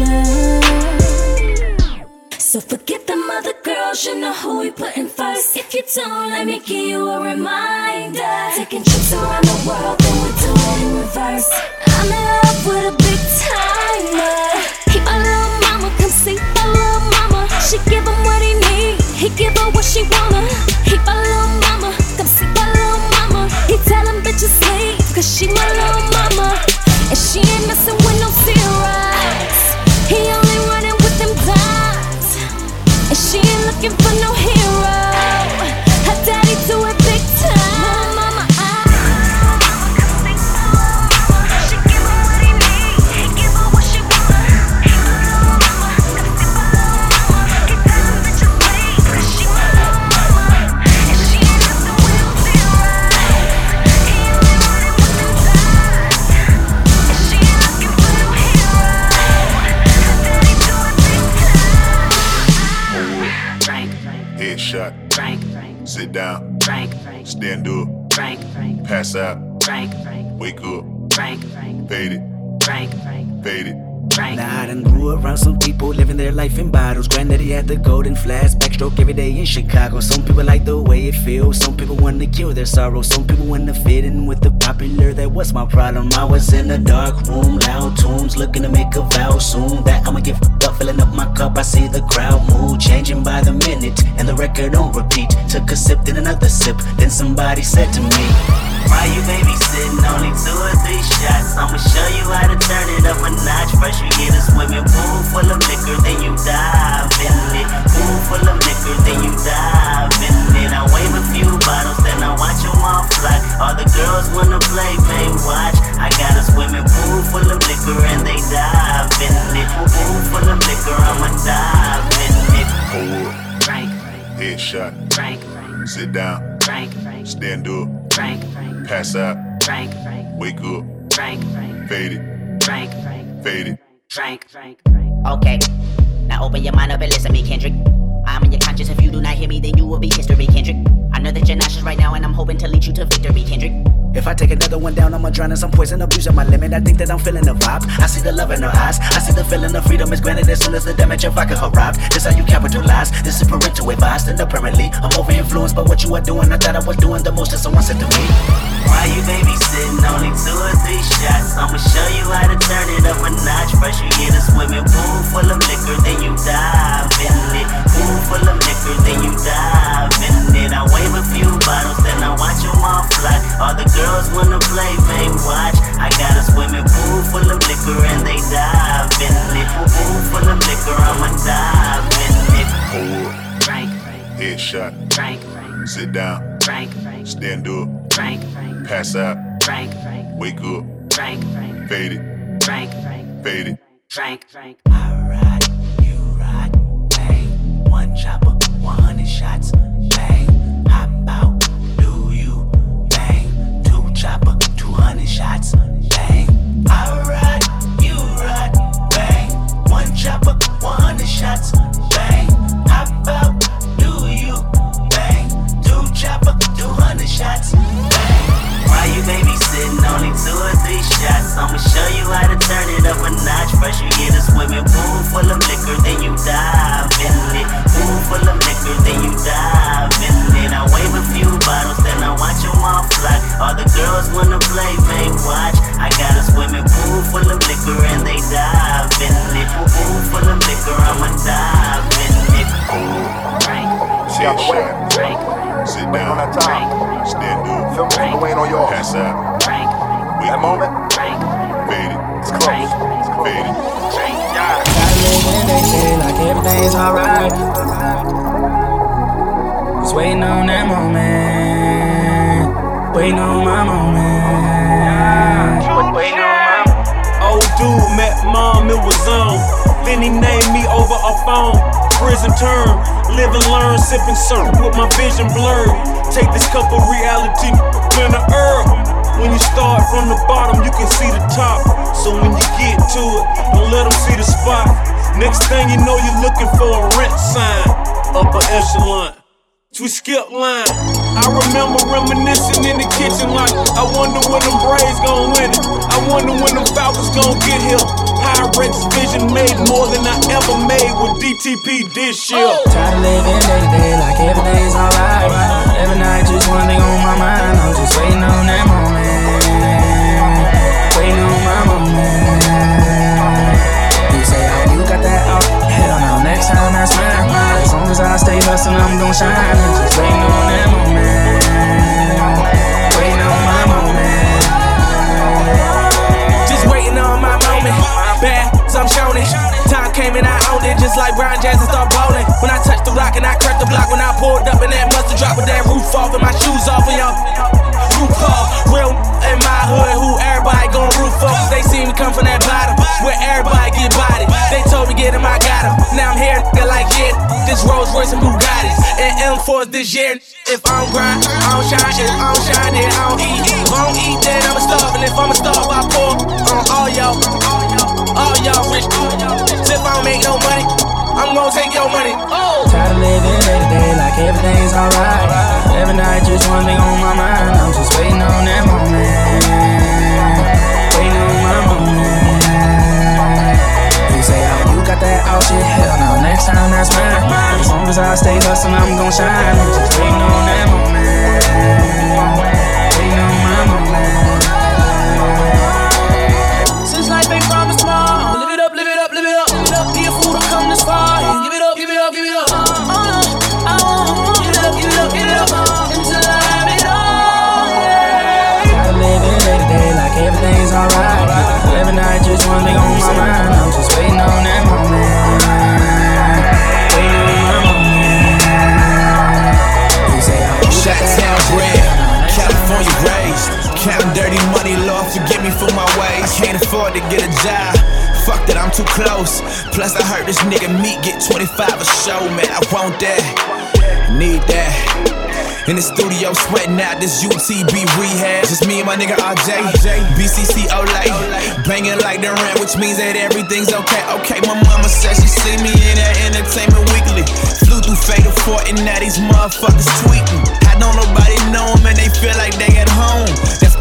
love. So forget them other girls, you know who we putting first. If you don't, let me give you a reminder. Taking trips around the world, then we do it in reverse. I'm in love with a big timer. He my little mama, come see my little mama. She give him what he need, he give her what she wanna. He my little mama, come see my little mama. He tell them bitches sleep, cause she my little mama. And she ain't messing with no zeros. He only running with them dimes. And she ain't looking for no hero. Her daddy do it big time. Mama, she give him what he need, he give her what she wanna. He my little mama, come see my little mama. He tell them bitches sleep, cause she my little mama. And she ain't messing with no zeros. He only running with them dimes. And she ain't looking for no hero. Her daddy do it big time. Headshot. Sit down. Stand up. Pass out. Wake up. Fade it. Fade it. Now I done grew around some people living their life in bottles. Granddaddy had the golden flask, backstroke every day in Chicago. Some people like the way it feels, some people want to kill their sorrow. Some people want to fit in with the popular, that was my problem. I was in a dark room, loud tunes, looking to make a vow soon that I'ma get fucked up, filling up my cup. I see the crowd mood changing by the minute, and the record on repeat. Took a sip, then another sip, then somebody said to me, why you babysitting? Only 2 or 3 shots. I'ma show you how to turn it up a notch. First you get a swimming pool full of liquor, then you dive in it. Pool full of liquor, then you dive in it. I wave a few bottles, then I watch them all fly. All the girls wanna play, they watch. I got a swimming pool full of liquor and they dive in it. Pool full of liquor, I'ma dive in it. Hold up. Headshot. Sit down. Stand up. Pass out. Wake up. Fade it. Fade it. Okay, now open your mind up and listen to me, Kendrick. I'm in your conscience. If you do not hear me, then you will be history, Kendrick. I know that you're nauseous right now, and I'm hoping to lead you to victory, Kendrick. If I take another one down, I'ma drown in some poison, abusing my limit. I think that I'm feeling the vibe. I see the love in her eyes. I see the feeling of freedom is granted as soon as the damage of vodka arrived. This how you capitalize. This is parental advice. And apparently, I'm over influenced by what you are doing. I thought I was doing the most that someone said to me. Why you babysitting? Only 2 or 3 shots. I'ma show you how to turn it up a notch. First you get a swimming pool full of liquor, then you dive in it. Pool full of liquor, then you dive in it. I wave a few bottles, then I watch them all fly. All the girls wanna play, they watch. I got a swimming pool full of liquor and they dive in it. Pool full of liquor, I'ma dive in it. Hold up. Drink. Headshot. Drink. Sit down. Drink. Stand up. Drink. Pass out. Drink. Wake up. Drink. Fade it. Drink. Fade it. Drink. I ride, you ride, bang. 1 chopper, 100 shots, bang. Hop out, do you, bang. 2 chopper, 200 shots, bang. I ride, you ride, bang. 1 chopper, 100 shots, bang. Hop out, do you, bang. 2 chopper, 200 shots, bang. Why you babysitting? Only 2 or 3 shots. I'ma show you how to turn it up a notch. First you get a swimming pool full of liquor, then you dive in it. Pool full of liquor, then you dive in it. I wave a few bottles, then I watch them all fly. All the girls wanna play, they watch. I got a swimming pool full of liquor and they dive in it. Pool full of liquor, I'ma dive in it. Drink. Headshot. Drink. Sit down. Drink. Stand up. Feel me? Waiting on yours. Pass out. Drink. Wake That up. moment. Drink. Fade it. It's close. Drink. Fade it. Drink. Gotta live in they say like everything's alright. Just waiting on that moment. Waiting on my moment. Waiting on my moment. Old dude met mom, it was on. Then he named me over a phone. Prison term, live and learn, sipping syrup with my vision blurred. Take this cup of reality in the herb. When you start from the bottom, you can see the top. So when you get to it, don't let them see the spot. Next thing you know, you're looking for a rent sign. Upper echelon. We skip line. I remember reminiscing in the kitchen like, I wonder when them Braves gon' win it. I wonder when them Falcons gon' get here. Pyrex vision made more than I ever made with DTP this year. Try to live in day to day like everything's alright. Every night just one thing on my mind. I'm just waiting on that moment. Waiting on my moment. You say, oh, you got that out. Hell no, next time that's mine. As long as I stay hustling, I'm gon' shine. I'm just waiting on that moment. Waiting on my moment. Just waiting on my moment. Bad, so I'm showing it. Time came and I owned it, just like Brian Jackson start bowling. When I touched the rock and I cracked the block, when I pulled up and that mustard drop with that roof off and my shoes off and y'all roof off. Real in my hood, who everybody gon' roof off. Cause they see me come from that bottom, where everybody get bodied. They told me get him, I got him. Now I'm here, they're like, yeah, this Rolls Royce and Bugattis and M4s this year. If I don't grind, I don't shine. If I don't shine, then I don't eat. If I don't eat, then I'ma starve. And if I'ma starve, I pour on all y'all. All y'all rich. If I don't make no money, I'm gon' take your money. Try to live in day to day like everything's alright. Every night just one thing on my mind. I'm just waiting on that moment. Waiting on my moment. You say, oh, you got that out shit. Hell no, next time that's mine. As long as I stay hustling, I'm gon' shine. I'm just waiting on that moment. Waiting on my moment. Since life ain't promised tomorrow, live it up, live it up, live it up, live it up. Be a fool to come this far. Give it up, give it up, give it up. I won't give it up, give it up, give it up until I have it all. Try to live in day to day like everything's alright. Every night just one thing on my mind. I'm just waiting on that moment. Waiting on my moment. You say I'm Chi-Town bred, California raised. Counting dirty money, Lord, forgive me for my ways. I can't afford to get a job. Fuck that, I'm too close. Plus, I heard this nigga Meek get 25 a show, man. I want that, need that. In the studio, sweating out this UTB rehab. Just me and my nigga RJ, BCC Olay. Banging like the rent, which means that everything's okay. Okay, my mama said she see me in that Entertainment Weekly. Flew through Fatal Fort and now these motherfuckers tweeting. I don't nobody know them and they feel like they at home. That's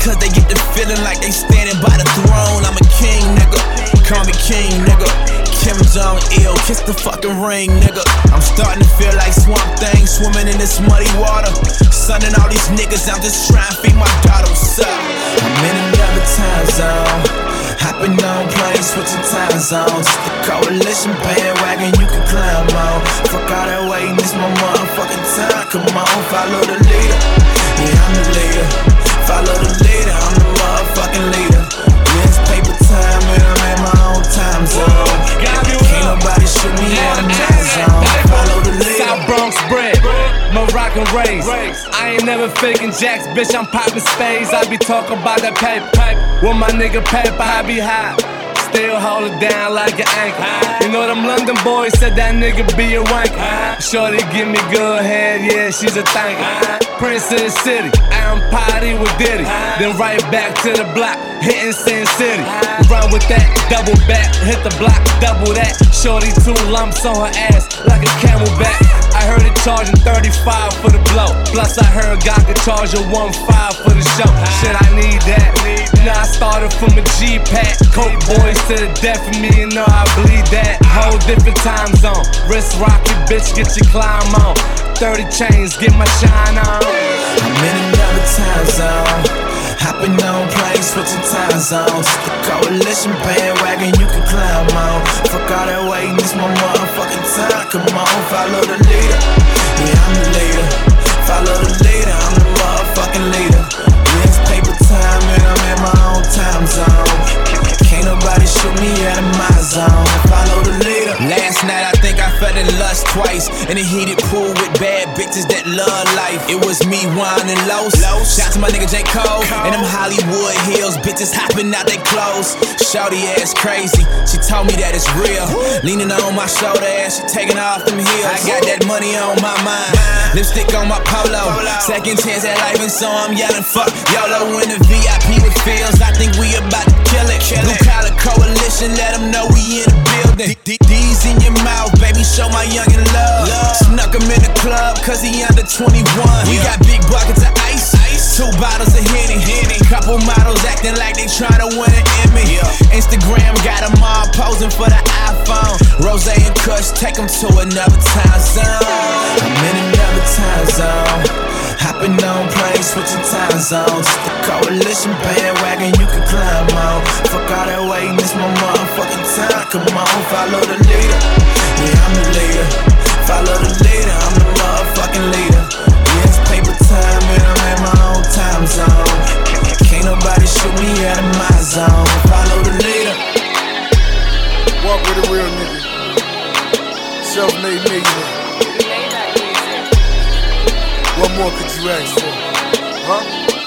cause they get the feeling like they standing by the throne. I'm a king, nigga. Call me king, nigga. Kim Jong-il, kiss the fucking ring, nigga. I'm starting to feel like Swamp Thing swimming in this muddy water. Son and all these niggas, I'm just trying to feed my daughter. What's up? I'm in another time zone. Hopping on planes, switching time zones. The coalition bandwagon you can climb on. Fuck all that waiting, this my motherfucking time. Come on, follow the leader. Yeah, I'm the leader. Follow the leader, I'm the motherfucking leader. Yeah, it's paper time and I'm in my own time zone. Can't nobody shoot me out of my zone. Follow the leader. South Bronx bread, Moroccan raised. I ain't never faking jacks, bitch, I'm popping spades. I be talking about that paper. With my nigga paper, I be high. Still hold it down like an anchor. You know them London boys said that nigga be a wanker. Shorty give me good head, yeah, she's a thanker. Prince of the city, I'm party with Diddy. Then right back to the block, hitting Sin City. Run with that, double back, hit the block, double that. Shorty 2 lumps on her ass like a camelback. I heard it charging 35 for the blow. Plus I heard God could charge her 1.5 for the show. Shit, I need that. Now I started from a G-pack. Coke boys to the death of me, you know I bleed that. Whole different time zone. Wrist rocket, bitch, get your climb on. 30 chains, get my shine on. I'm in another time zone. Hopping on planes, switching time zones. The coalition bandwagon you can climb on. Fuck all that waiting, this my motherfucking time. Come on, follow the leader. Yeah, I'm the leader. Follow the leader, I'm the motherfucking leader. Yeah, it's paper time and I'm in my own time zone. Can't nobody shoot me out of my zone. Follow the leader. Last night I think I fell in lust twice. In a heated pool with bad bitches that love life. It was me, Wine and Los. Shout to my nigga J. Cole. And them Hollywood Hills bitches hopping out they clothes. Shorty ass crazy, she told me that it's real. Leaning on my shoulder as she taking off them heels. I got that money on my mind, lipstick on my polo. Second chance at life and so I'm yelling fuck YOLO. In the VIP with feels, I think we about to kill it. Blue collar coalition, let them know we in the building. D's in your mouth, baby, show my youngin' love. Snuck him in the club, cause he under 21. We got big buckets of ice, 2 bottles of Henny. Couple models acting like they tryna win an Emmy. Instagram got them all posing for the iPhone. Rose and Kush, take them to another time zone. I'm in another time zone. Hopping on planes, switching time zones. The coalition bandwagon you can climb on. Fuck all that waiting, it's my motherfucking time. Come on, follow the leader. Yeah, I'm the leader. Follow the leader, I'm the motherfucking leader. Yeah, it's paper time and I'm in my own time zone. Can't nobody shoot me out of my zone. Follow the leader. Walk with a real nigga. Self-made millionaire. What more could you ask for? Huh?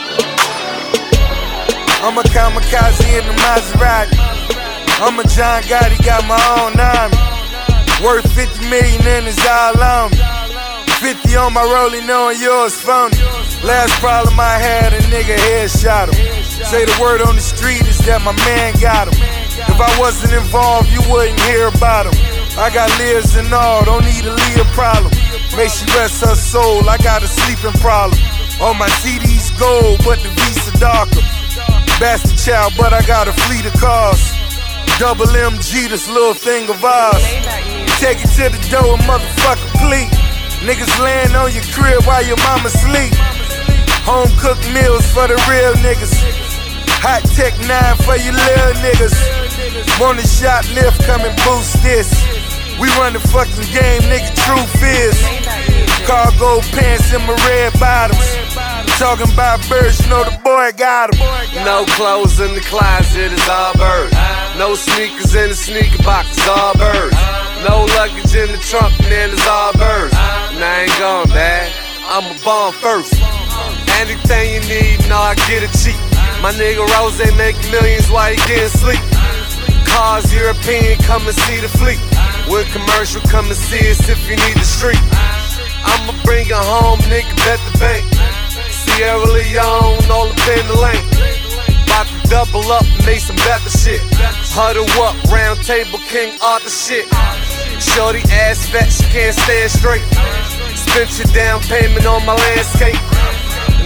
I'm a kamikaze in the Maserati. I'm a John Gotti, got my own army. Worth 50 million and it's all on me. 50 on my rolling, knowing yours phony. Last problem I had, a nigga headshot him. Say the word on the street is that my man got him. If I wasn't involved, you wouldn't hear about him. I got Liz and all, don't need a Leah problem. Make she rest her soul, I got a sleeping problem. On my CD's gold, but the Visa darker. Bastard child, but I got a fleet of cars. Double MG, this little thing of ours. Take it to the door, motherfucker, please. Niggas laying on your crib while your mama sleep. Home cooked meals for the real niggas. Hot Tech 9 for you little niggas. Want a shoplift, come and boost this. We run the fucking game, nigga, truth is. Cargo pants in my red bottoms. Talking about birds, you know the boy got them. No clothes in the closet, it's all birds. No sneakers in the sneaker box, it's all birds. No luggage in the trunk, man, it's all birds. And I ain't gone, man, I'm a bomb first. Anything you need, no, I get it cheap. My nigga Rose making millions while he getting sleep. Cars European, come and see the fleet. With commercial, come and see us if you need the street. I'ma bring her home, nigga, bet the bank. Sierra Leone, all up in the lane. About to double up, make some better shit. Huddle up, round table, King Arthur shit. Shorty ass fat, she can't stand straight. Spent your down payment on my landscape.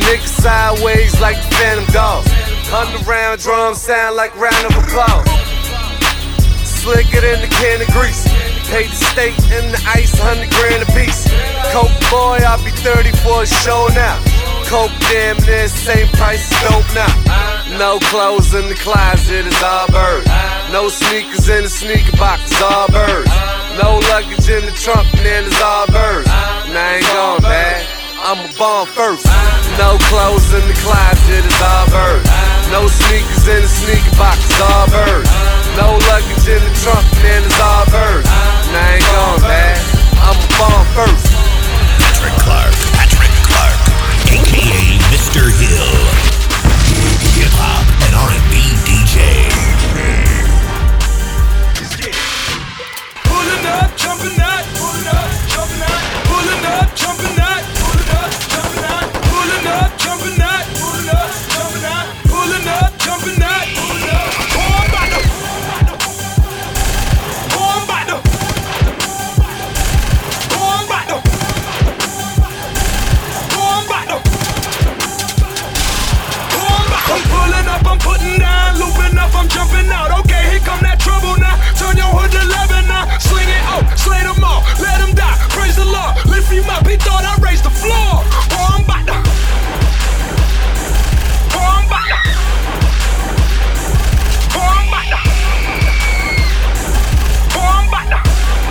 niggas sideways like the Phantom Dog. Underground drums sound like round of applause. Slicker than the can of grease. Pay the state and the ice, 100 grand a piece. Coke boy, I'll be 30 for a show now. Coke damn near same price as dope now. No clothes in the closet, it's all birds. No sneakers in the sneaker box, it's all birds. No luggage in the trunk, man, it's all birds. And I ain't gone bad, I'm a bomb first. No clothes in the closet, it's all birds. No sneakers in the sneaker box, it's all birds. No luggage in the trunk, man, it's all birds. And I ain't gone bad, I'm a bomb first. Patrick Clark, a.k.a. Mr. Hill. Hip-hop and R&B DJ. Pulling up, jumping out, pulling up, jumping out, pulling up, jumping out, pulling up, jumping out, pulling up, jumping out, pulling up, jumping out, pulling up, jumping out, pulling up. I'm putting down, looping up, I'm jumping out. Okay, here come that trouble now. Turn your hood to 11 now. Sling it out, slay them all, let them die. Praise the Lord, lift him up. He thought I raised the floor. Oh, I'm about to. Oh, I'm about to. Oh, I'm about to. Oh, I'm about to.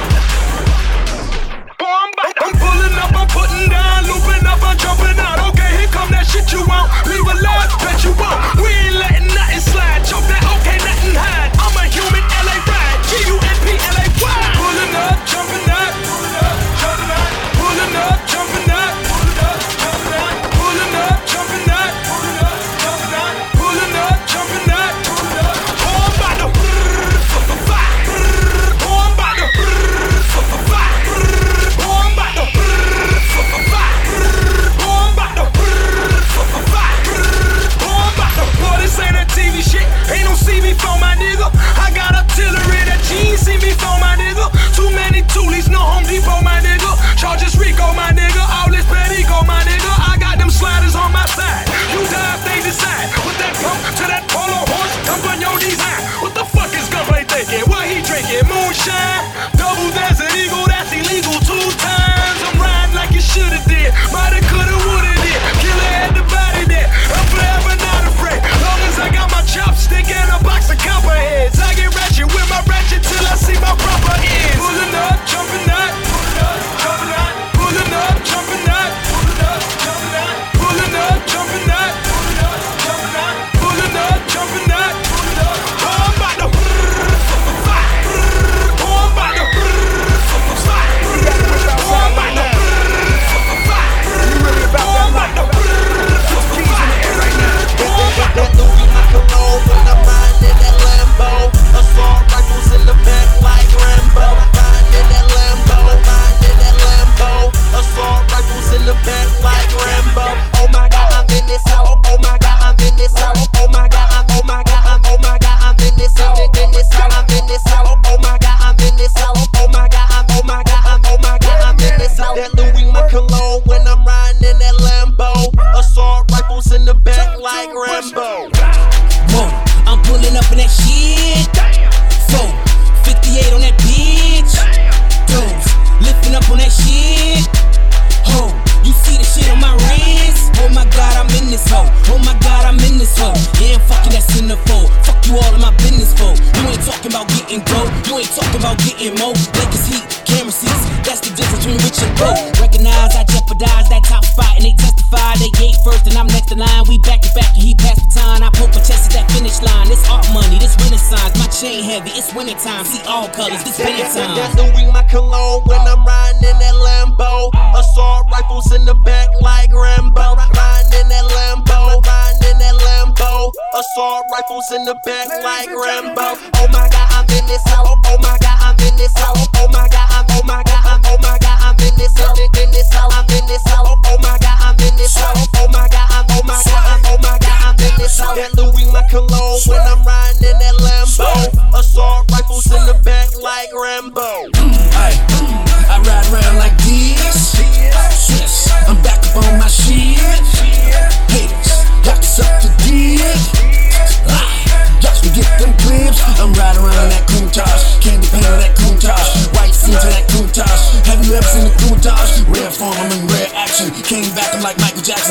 Oh, I'm about to. I'm pulling up, I'm putting down, looping up, I'm jumping out. Okay, here come that shit you want. Leave a life, bet you won't. We ain't letting nothing slide. Choke that, okay, nothing hide. I'm a human LA ride. G-U-M-P-L-A-Y. Pulling up, jumping out. Pulling up, jumping out. Pulling up, jumping out. Pulling up, jumping out. Pulling up, jumping out. Oh, I'm about to. Oh, I'm about to. Oh, I'm about to. Boy, this ain't that TV shit. Ain't no see me for my nigga. I got artillery that you ain't see me for my nigga. Too many toolies, no Home Depot, my nigga. Charges Rico, my nigga. All this bad ego, my nigga. I got them sliders on my side. You die if they decide. Put that pump to that polo horse. Dump on your design. What the fuck is Gunplay thinking? What he drinking? Moonshine? Double Desert Eagle, that's illegal 2 times. I'm riding like you shoulda did. Mighta, coulda, woulda did. Killer had the body there. I'm forever not afraid. Long as I got my chopstick and a box of copperheads. I get ratchet with my ratchet till I see my proper ends. Pulling up, jumping out. Pulling up, jumping out. Pulling up, jumping out. Pulling up, jumping out. Pulling up, jumping out. Oh, I'm about to. Oh, I'm about to. Oh, I'm about to. That Louis Macarone when I'm riding in that Lambo. Assault rifles in the back like Rambo. Riding in that Lambo, riding in that Lambo. Assault rifles in the back like Rambo. Oh my God, I'm in this house. Oh my God, I'm in this house. Oh my God, I'm. Oh my God, I'm. Oh my God, I'm in this house. In this house, I'm in this house. Oh my God, I'm in this house. Oh my God, I'm. Oh my God, I'm. Oh my God, I'm in this house. That Louis Macarone when I'm riding in that Lambo. Assault rifles in the back like Rambo. Whoa, I'm pulling up in that shit. 458 on that bitch. Dudes, lifting up on that shit. Ho, you see the shit on my wrist? Oh my God, I'm in this hoe. Oh my God, I'm in this hoe. Yeah, I'm fucking that's in the fold. Fuck you all in my business for. You ain't talking about getting dope. You ain't talking about getting more. Lakers heat, camera seats. That's the difference between rich and broke. Recognize I jeopardize that top spot and they testify. They gate first and I'm next in line. We back to back and he passed the time. I poke my chest at that finish line. This art money, this renaissance. My chain heavy, it's winter time. See all colors, this winter time. That's Louis Macarone when I'm riding in that Lambo. Assault rifles in the back like Rambo. Riding in that Lambo, riding in that Lambo. Assault rifles in the back like Rambo. Oh my God, I'm in this house. Oh my God, I'm in this house. Oh my God, I'm. Oh my God, I'm. Oh my God, I'm in this house. In this house, I'm in this house. Oh my God, I'm in this house. Oh my God, I'm. Oh my God, I'm. Oh my God, I'm in this house. That Louis Macarone when I'm riding in that Lambo. Assault rifles in the back like Rambo. I ride around like this. Yes, I'm back up on my shit. Countach. Candy paint on that Countach. White suit to that Countach. Have you ever seen the Countach? Red form, I'm in red action. Came back, I'm like Michael Jackson.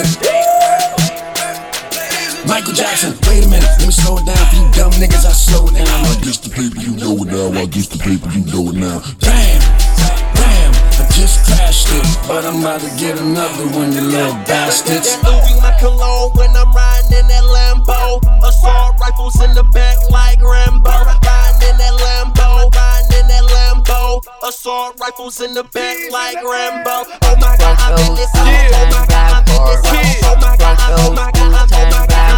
Michael Jackson, wait a minute, let me slow it down. For you dumb niggas, I slow it down. I guess the paper, you know it now. I guess the paper, you know it now. Damn, I just crashed it, but I'm about to get another one, you little bastards. That Louis my cologne when I'm riding in that Lambo. Assault rifles in the back like Rambo. Riding in that Lambo, riding in that Lambo. Assault rifles in the back like Rambo. Oh my God, I'm in this house. Oh my God, I'm in this house. Oh my God, oh my God, oh my God.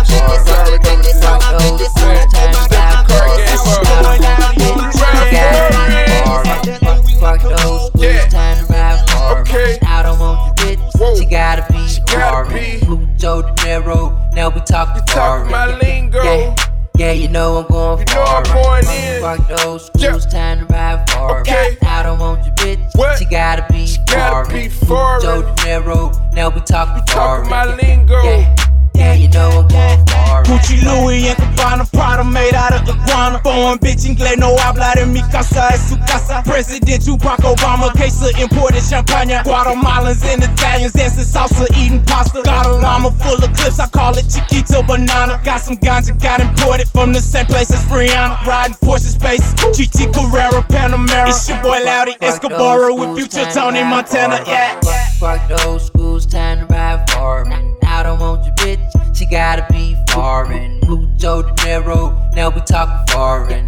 Fuck those blues, time to ride for me. I don't want your bitch, she gotta be foreign. Mucho dinero, now we talking foreign. Yeah, you know I'm going foreign. Fuck those blues, time to ride for me. I don't want your bitch, she gotta be foreign. Mucho dinero, now we talking foreign. Yeah, you know I'm going far. Gucci, Louis, and Cabana, Prada made out of iguana. Foreign bitch, inglés no habla de mi casa, es su casa. President Barack Obama, case of imported champagne. Guatemalans and Italians dancing salsa, eating pasta. Got a llama full of clips, I call it Chiquito Banana. Got some ganja, got imported from the same place as Rihanna. Riding Porsche Space, GT Carrera, Panamera. It's your boy Loudy Escobar with Future Tony Montana, yeah. Fuck those schools, time to ride for me. I don't want your bitch, she gotta be foreign. Mucho dinero, now we talking foreign.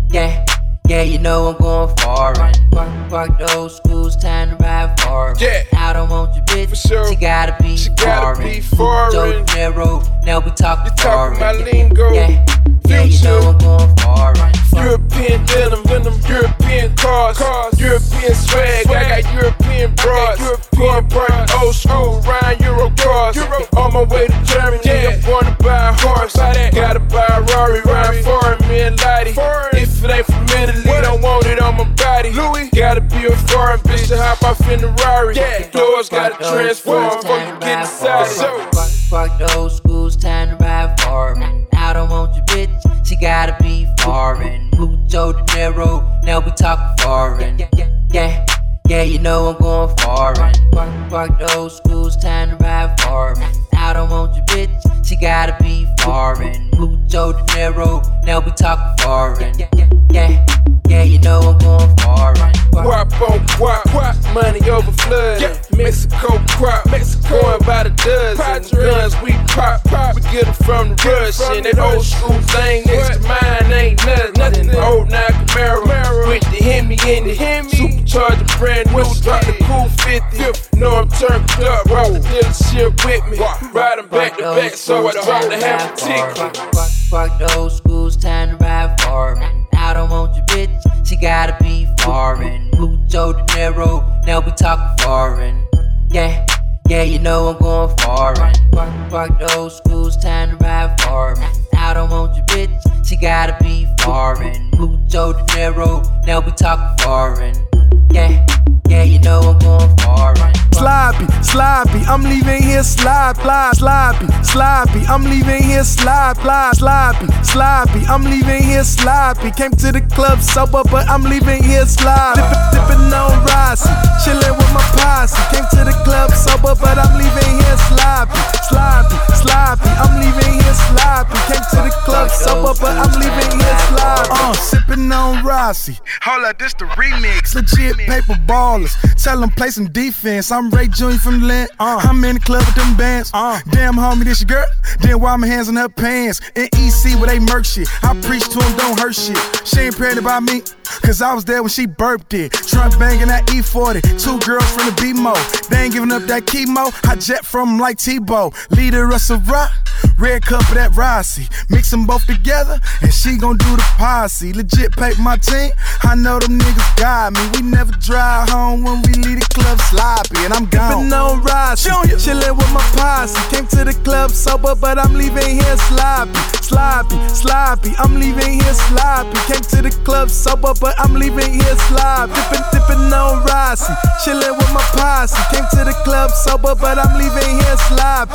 Yeah, you know I'm going foreign. Fuck those schools, time to ride for me. I don't want your bitch, she gotta be foreign. Mucho dinero, now we talking foreign. Yeah, you know I'm going foreign. European denim, European cars, European swag. I got European broads, going burnt old school, Ryan Euro cars. On my way to Germany, I'm going to buy a horse. Gotta buy a Rari, ride foreign, me and Lottie. If it ain't from Italy, don't want it on my body. Gotta be a foreign bitch to hop off in the Rari. The doors gotta transform, fuck you get inside. Fuck those schools, time to ride for me. I don't want your bitch, she gotta be foreign. Mucho dinero, now we talking foreign. Yeah, you know I'm going foreign. Fuck those schools, time to ride for me. I don't want your bitch, she gotta be foreign. Mucho dinero, now we talking foreign. Yeah, you know I'm going foreign. Guap on guap, money over flood. Mexico crop, going by the dozen. Guns we pop, we get them from the rush. And that old school thing next to mine ain't nothing. Old now Camaro, with the Hemi in it. Supercharger brand new, drop the cool 50. Know I'm turned up, rock the dealership with me. Riding back to back, so I drop the half a ticket. Fuck those schools, time to ride for me. I don't want your bitch, she gotta be foreign. Mucho dinero, now we talking foreign. Yeah, you know I'm going foreign. Fuck those schools, time to ride for me. I don't want your bitch, she gotta be foreign. Mucho dinero, now we talking foreign. Yeah, you know I'm going foreign. Sloppy, I'm leaving here sloppy, I'm leaving here sloppy, I'm leaving here sloppy. Came to the club sober, but I'm leaving here sloppy. Dipping on Rossi, chilling with my posse. Came to the club sober, but I'm leaving here sloppy, I'm leaving here sloppy. Came to the club sober, but I'm leaving here sloppy. Sipping on Rossi, hold up, this the remix. Legit paper ballers, tell them play some defense. I'm Ray Jr. from the land. I'm in the club with them bands. Damn homie, this your girl. Then wipe my hands on her pants. In EC where they murk shit. I preach to them, don't hurt shit. She ain't praying about me, cause I was there when she burped it. Trunk banging that E40. 2 girls from the B-Mo. They ain't giving up that chemo. I jet from 'em like Tebow. Leader of Ciroc, red cup of that Rossi. Mix them both together, and she gon' do the posse. Legit paper my team. I know them niggas got me. We never drive home when we leave the club sloppy, and I'm gone. Dipping on Rossi, chillin' with my posse. Came to the club sober, but I'm leaving here sloppy. I'm leaving here sloppy. Came to the club sober, but I'm leaving here sloppy. Dipping on Rossi, chillin' with my posse. Came to the club sober, but I'm leaving here sloppy.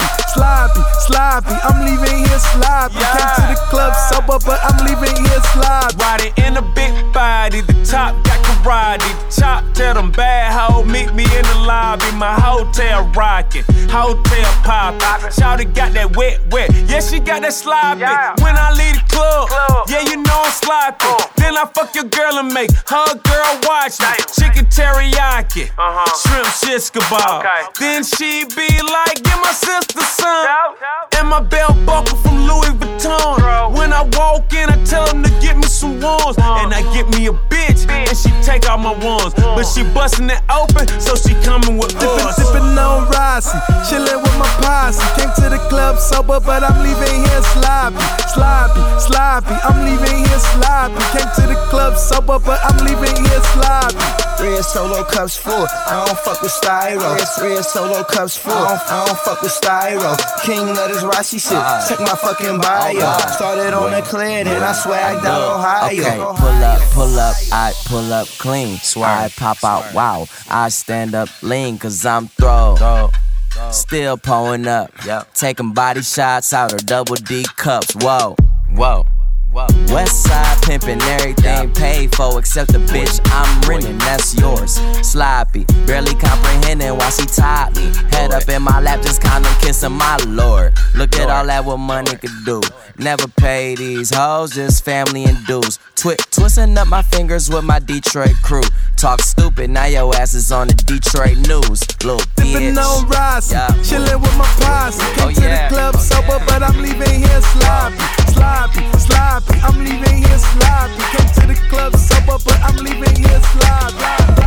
I'm leaving here sloppy. Came to the club sober, but I'm leaving here sloppy. Riding in a big body, the top got karate. Chop, tell them bad hoe, meet me in the lobby. My hotel rockin', hotel poppin'. Shawty got that wet, yeah, she got that sloppy. When I leave the club, yeah, you know I'm sloppy. Then I fuck your girl and make her girl watch me. Chicken teriyaki, shrimp shish kebab. Then she be like, get my sister some. And my belt buckle from Louis Vuitton. When I walk in, I tell them to get me some ones. And I get me a bitch, and she take all my ones. But she bustin' it open, so she coming with us. Dippin' on Rossi, chillin' with my posse. Came to the club sober, but I'm leaving here sloppy. I'm leaving here sloppy. Came to the club sober, but I'm leaving here sloppy. Red solo cups full, I don't fuck with styro. Red solo cups full, I don't fuck with styro. King of this Rossi shit, check my fucking bio. Started on the clear, then I swagged out Ohio. Okay, pull up, I pull up clean. I pop out, wow, I stand up lean, cause I'm throw. Still pulling up, taking body shots out of double D cups, whoa. West side pimpin', everything paid for except the bitch I'm renting, that's yours. Sloppy, barely comprehending why she taught me. Head up in my lap, just kinda kissing my lord. Look at all that what money could do. Never pay these hoes, just family and dues. Twisting up my fingers with my Detroit crew. Talk stupid, now your ass is on the Detroit news. Little bitch. Dippin' on Rossi, chillin' with my posse. Came to the club sober, but I'm leaving here sloppy. I'm leaving here sloppy. Came to the club sober, but I'm leaving here sloppy.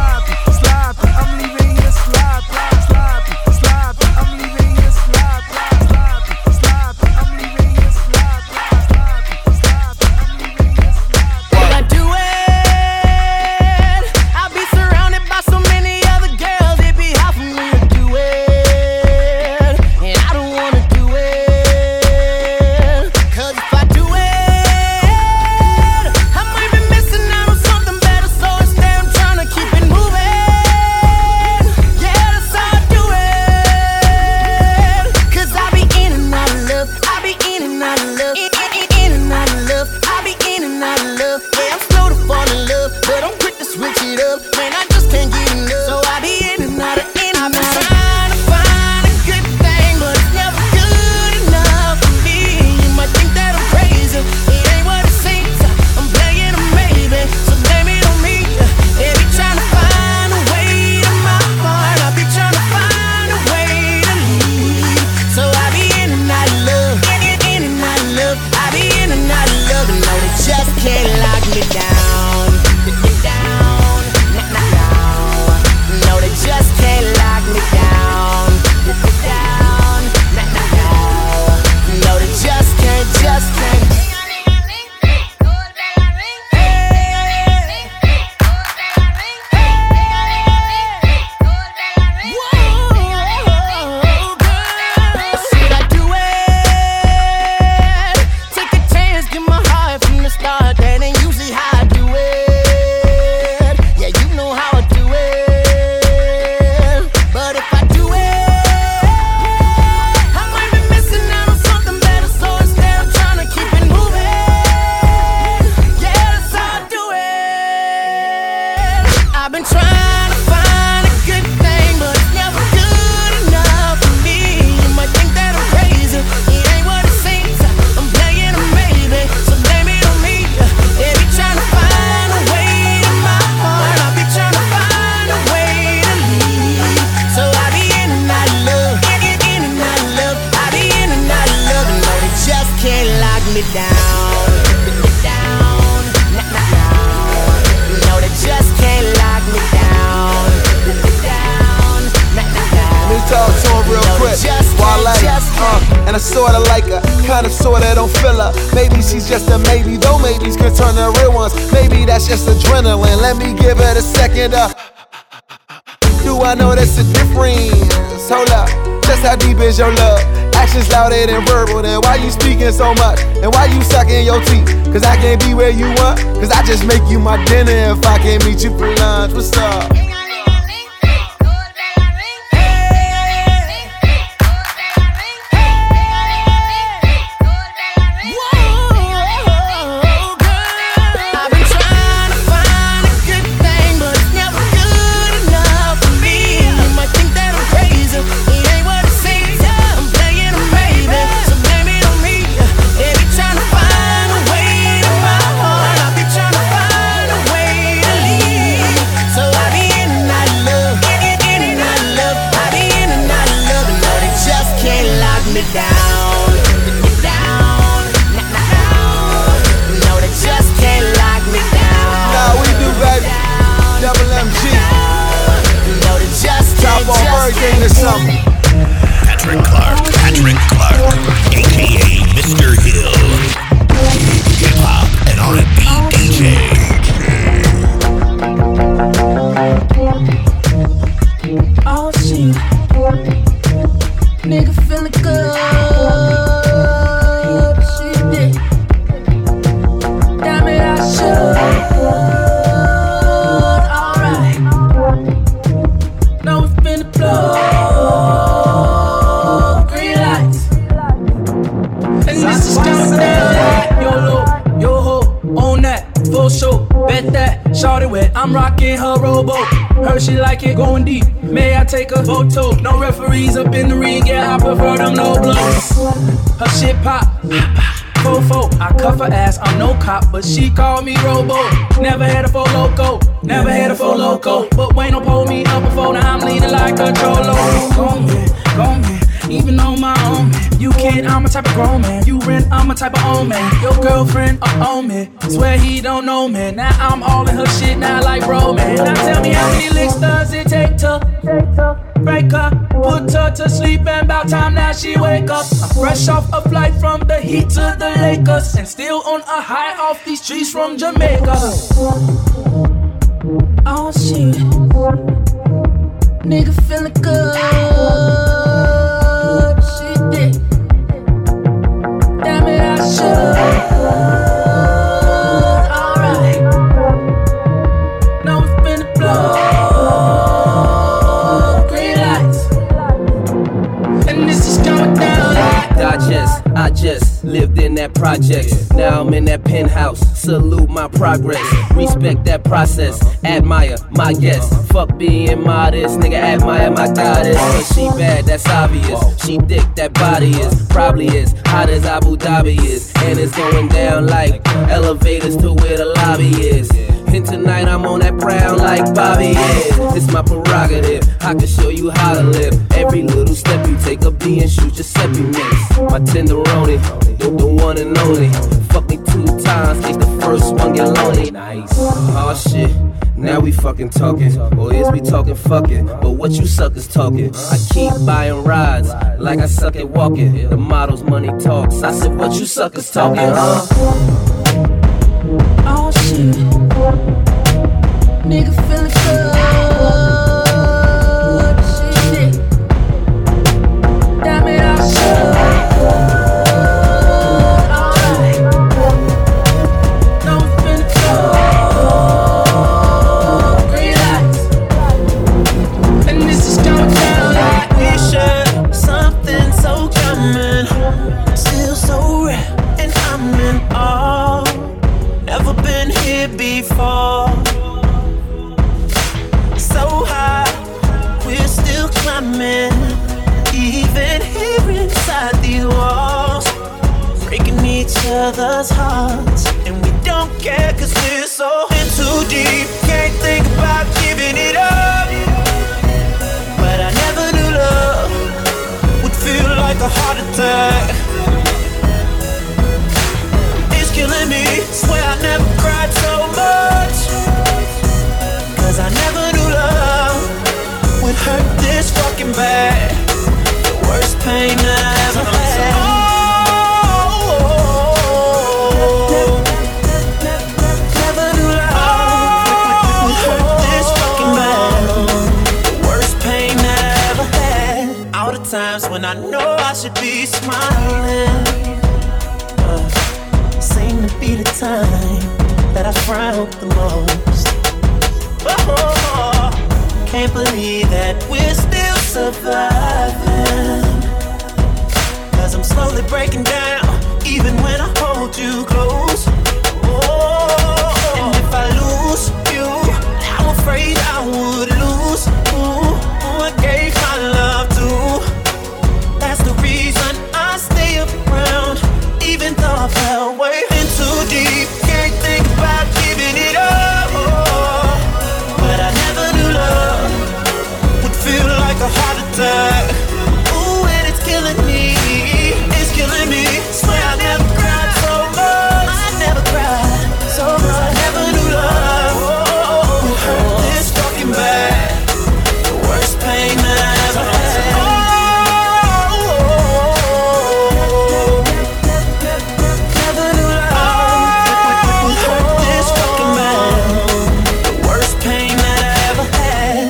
I'm leaving here sloppy. I'm leaving here sloppy. I'm leaving here sloppy. When I do it, I'll be surrounded by so many other girls. It'd be hard for me to do it, and I don't wanna do it. Cause if I do it, I might be missing out on something better. So instead I'm trying to keep it moving. Yeah, that's how I do it. Cause I be in and out of love. I be in and out of love. In and out of love. I be in and out of love. Yeah, I'm slow to fall in love, but I'm quick to switch it up. Man, I just can't get enough. So I be in and out of, I've been trying to find a good thing, but it's never good enough for me. You might think that I'm crazy, it ain't what it seems. I'm playing a maybe, so blame it on me. They be trying to find a way to my heart. I be trying to find a way to leave. So I be in and out of love, in and out of love. I be in and out of love, and no, they just can't lock me down. No, they just can't lock me down. No, they just can't. Should I do it? Take a chance, give my heart from the start. That ain't usually how I do it. Yeah, you know how I do it. But if I do it, I might be missing out on something better. So instead I'm trying to keep it moving. Yeah, that's how I do it. I've been trying to find a good thing, but it's never good enough for me. You might think that I'm crazy, it ain't what it seems. I'm playing a maybe, so blame it on me. They be trying to find a way to my heart. I be trying to find a way to leave. So I be in and out of love, in and out of love. I be in and out of love, and no, they just can't lock me down. No, they just can't lock me down. Let me talk to him real quick. And I sorta like her, kinda sorta don't feel her. Maybe she's just a maybe, though maybes can turn to real ones. Maybe that's just adrenaline. Let me give it a second. Do I know that's a difference? Hold up, just how deep is your love? Actions louder than verbal, then why you speaking so much? And why you sucking your teeth? Cause I can't be where you want. Cause I just make you my dinner if I can't meet you for lunch. What's up? Patrick Clark, aka Mr. Hill, hip hop and R&B DJ. Oh shit, nigga feeling good. She did. Damn it, I should. Alright. Now we finna blow. Shorty wet, I'm rocking her rowboat. Heard she like it going deep. May I take a photo? No referees up in the ring, yeah, I prefer them low blows. Her shit pop, fofo. I cuff her ass, I'm no cop, but she called me Robo. Never had a full loco, never had a full loco. But Wayne don't pull me up before, now I'm leaning like a cholo. Go man, even on my own man. You can't, I'm a type of grown man. You rent, I'm a type of old man. Your girlfriend on me, swear he don't know me. Now I'm all in her shit now like bro man. Now tell me how many licks does it take to break her, put her to sleep, and about time now she wake up. I'm fresh off a flight from the Heat to the Lakers, and still on a high off these trees from Jamaica. Oh shit, nigga feeling good. She did. Damn it, I should. Alright. Now we finna blow. Green lights. And this is going down like I just lived in that project. Now I'm in that penthouse. Salute my progress. Respect that process. Admire my guests. Fuck being modest. Nigga, admire my goddess. Cause she bad, that's obvious. She thick, that body is. Probably is hot as Abu Dhabi is. And it's going down like elevators to where the lobby is. And tonight I'm on that brown like Bobby is. It's my prerogative, I can show you how to live. Every little step you take, a B and shoot Giuseppe mix. My tenderoni, the one and only. Fuck me 2 times, take the first one get lonely. Nice. Oh shit, now we fucking talking. Or is we talking fucking? But what you suckers talking? I keep buying rides, like I suck at walking. The model's money talks, I said what you suckers talking, huh? oh shit, nigga feeling good. Shit, damn it, I should. Alright, now we finna go. Green lights, and this is going down like we should. Something so coming, still so rare, and I'm in awe. Never been here before. So high, we're still climbing. Even here inside these walls, breaking each other's hearts. And we don't care cause we're so in too deep. Can't think about giving it up. But I never knew love would feel like a heart attack. Killing me, swear I never cried so much. Cause I never knew love would hurt this fucking bad. The worst pain that I ever had. Never knew love would hurt this fucking bad. The worst pain that I ever had. All the times when I know I should be smiling. Seem to be the time that I frown the most. Oh, can't believe that we're still surviving. Cause I'm slowly breaking down, even when I hold you close. Oh, and if I lose you, I'm afraid I would lose who I gave my love to. That's the reason I stay around, even though I fell way in too deep. Can't think about giving it up. But I never knew love would feel like a heart attack. Ooh, and it's killing me. It's killing me. Swear I never cried so much. I never cried so much. I never knew love would hurt this fucking bad. The worst pain that I ever had. Never knew love would hurt this fucking bad. The worst pain that I ever had.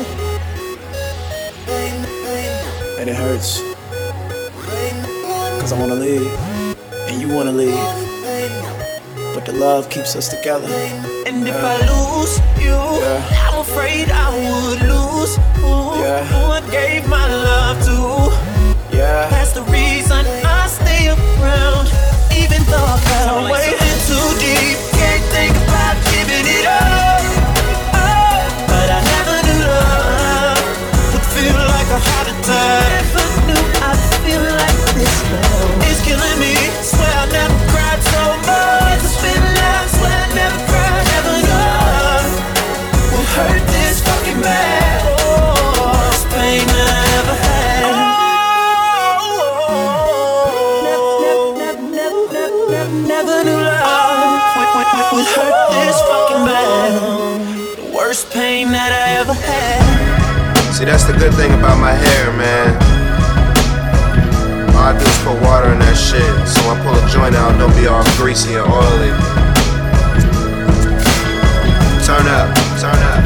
And it hurts, cause I wanna leave, and you wanna leave, but the love keeps us together. And if I lose you, I'm afraid I would lose who I gave my love to. That's the reason I stay around, even though I fell way in too deep. Can't think about giving it up. But I never knew love would feel like a heart attack. Never knew I'd feel like this love. It's killing me. Swear I never cried so much. It's been love. Swear I never cried. Never knew love would hurt this fucking bad. Oh, it's pain that I ever had. Never knew love would hurt this fucking bad. The worst pain that I ever had. See, that's the good thing about my hair, man. All I do is put water in that shit, so when I pull a joint out, don't be all greasy and oily. Turn up, turn up.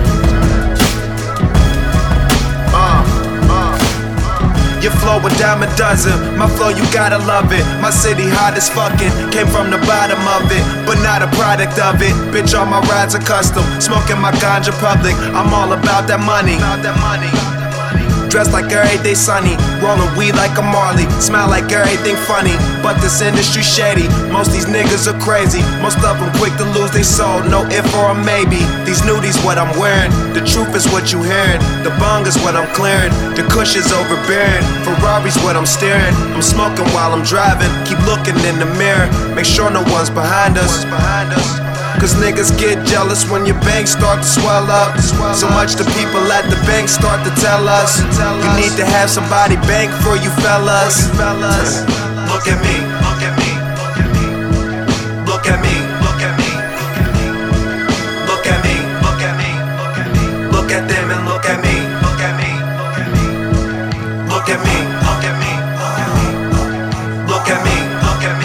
Your flow a dime a dozen, my flow you gotta love it. My city hot as fucking, came from the bottom of it, but not a product of it. Bitch, all my rides are custom, smoking my ganja public. I'm all about that money. Dressed like every day sunny, rolling weed like a Marley, smile like everything funny, but this industry shady. Most these niggas are crazy, most of them quick to lose they soul, no if or a maybe. These nudies what I'm wearing, the truth is what you hearing, the bong is what I'm clearing, the kush is overbearing, Ferrari's what I'm steering. I'm smoking while I'm driving, keep looking in the mirror, make sure no one's behind us. Cause niggas get jealous when your bank start to swell up. So much the people at the bank start to tell us, you need to have somebody bank for you fellas. Look at me, look at me, look at me, look at me, look at me, look at me, look at them and look at me, look at me, look at me, look at me, look at me, look at me,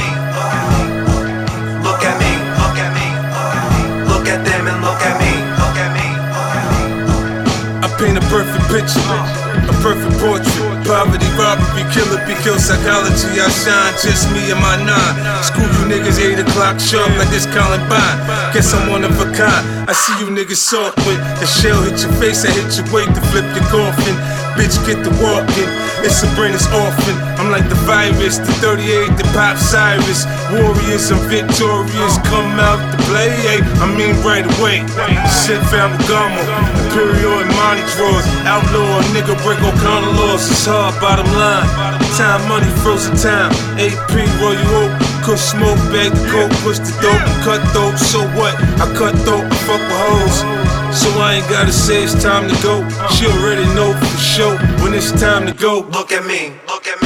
look at me, look at me, look at them and look at me, look at me. I paint a perfect picture, a perfect portrait. Poverty, robbery, killer, be kill psychology. I shine, just me and my nine. School you niggas 8 o'clock sharp like this Columbine. Guess I'm one of a kind. I see you niggas soft when the shell hit your face. I hit your weight to flip your coffin. Bitch, get the walking. It's Sabrina's orphan. I'm like the virus, the 38, the Pop Cyrus. Warriors, I'm victorious. Come out to play, I mean right away. Shit, Ferragamo, Imperial and Monty draws. Outlaw, nigga, break all kind of laws. It's hard, bottom line. Time, money, frozen time. AP, roll you up. Kush smoke, bag the coke, push the dope, and cut throat. So what? I cut throat, I fuck with hoes. So I ain't gotta say it's time to go. She already know for sure when it's time to go. Look at me, look at me.